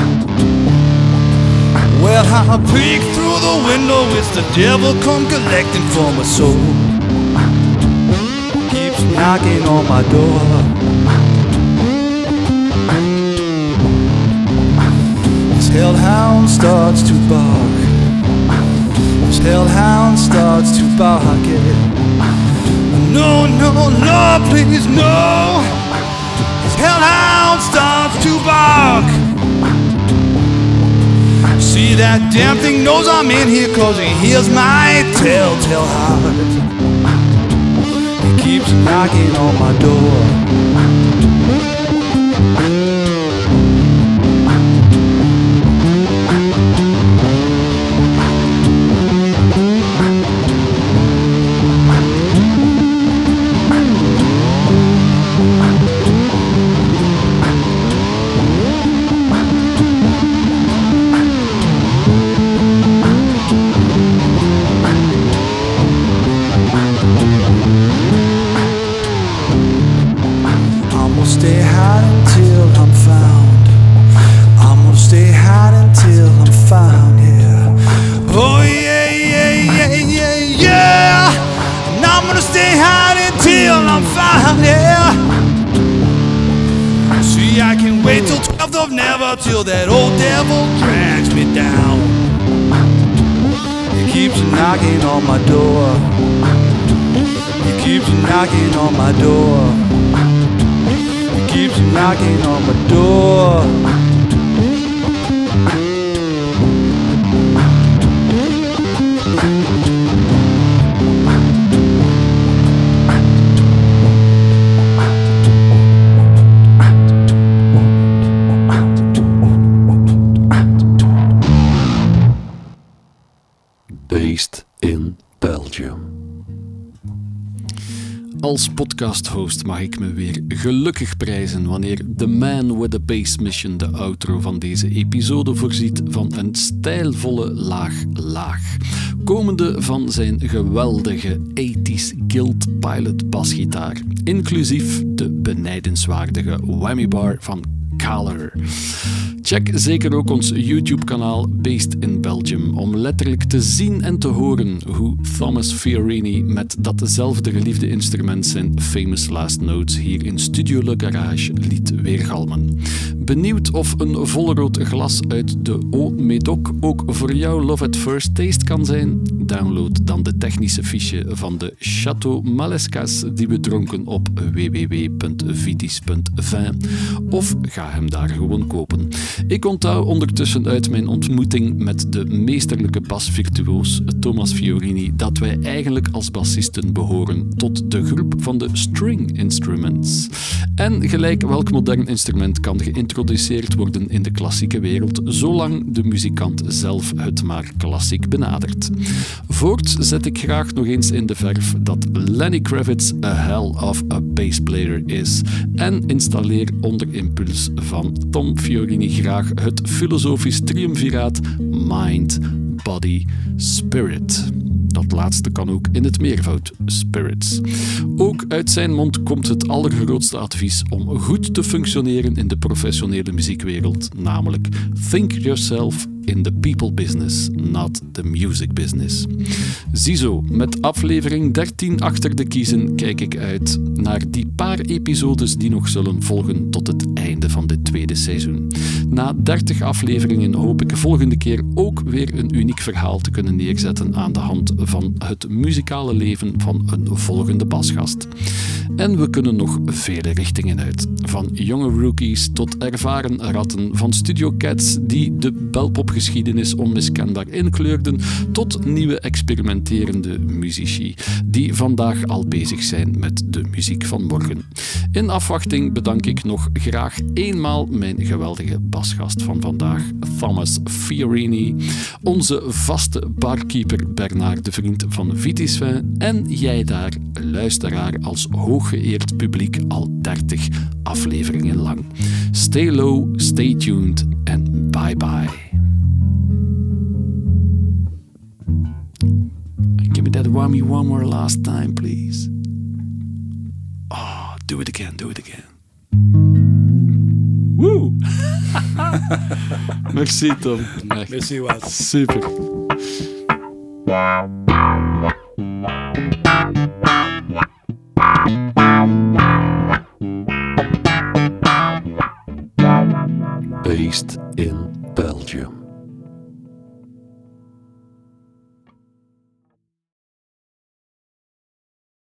Well, I peek through the window, it's the devil come collecting for my soul. Keeps knocking on my door. This hellhound starts to bark. This hellhound starts to bark, yeah. No, no, Lord, please, no. This hellhound starts to bark. See, that damn thing knows I'm in here, 'cause he hears my telltale heart. He keeps knocking on my door. Stay hot until I'm found. I'm gonna stay hot until I'm found, yeah. Oh yeah, yeah, yeah, yeah, yeah. And I'm gonna stay hot until I'm found, yeah. See, I can wait till 12th of never, till that old devil drags me down. He keeps knocking on my door. He keeps knocking on my door. Keeps knocking on my door. Based in Belgium. Als podcasthost mag ik me weer gelukkig prijzen wanneer The Man with the Bass Mission de outro van deze episode voorziet van een stijlvolle laag, komende van zijn geweldige 80s Guild Pilot basgitaar, inclusief de benijdenswaardige whammy bar van Kahler. Check zeker ook ons YouTube-kanaal Based in Belgium om letterlijk te zien en te horen hoe Thomas Fiorini met datzelfde geliefde instrument zijn famous last notes hier in Studio Le Garage liet weergalmen. Benieuwd of een volrood glas uit de Haut Médoc ook voor jou Love at First Taste kan zijn? Download dan de technische fiche van de Chateau Malescas die we dronken op www.vitis.vin of ga hem daar gewoon kopen. Ik onthoud ondertussen uit mijn ontmoeting met de meesterlijke basvirtuoos Thomas Fiorini dat wij eigenlijk als bassisten behoren tot de groep van de string instruments. En gelijk welk modern instrument kan geïntroduceerd worden in de klassieke wereld, zolang de muzikant zelf het maar klassiek benadert. Voorts zet ik graag nog eens in de verf dat Lenny Kravitz a hell of a bassplayer is en installeer onder impuls van Tom Fiorini graag het filosofisch triumviraat Mind, Body, Spirit. Dat laatste kan ook in het meervoud, spirits. Ook uit zijn mond komt het allergrootste advies om goed te functioneren in de professionele muziekwereld, namelijk think yourself in the people business, not the music business. Ziezo, met aflevering 13 achter de kiezen kijk ik uit naar die paar episodes die nog zullen volgen tot het einde van dit tweede seizoen. Na 30 afleveringen hoop ik volgende keer ook weer een uniek verhaal te kunnen neerzetten aan de hand van het muzikale leven van een volgende basgast. En we kunnen nog vele richtingen uit. Van jonge rookies tot ervaren ratten, van Studio Cats die de belpopgeschiedenis onmiskenbaar inkleurden, tot nieuwe experimenterende muzici die vandaag al bezig zijn met de muziek van morgen. In afwachting bedank ik nog graag eenmaal mijn geweldige basgast van vandaag, Thomas Fiorini, onze vaste barkeeper Bernard de Vriend van Vitisvin en jij daar, luisteraar, als hooggeëerd publiek al 30 afleveringen lang. Stay low, stay tuned en bye bye. Give me that whammy one more last time, please. Oh, do it again, do it again. Woo! Merci, Tom. Merci, Wes. Super. Wow.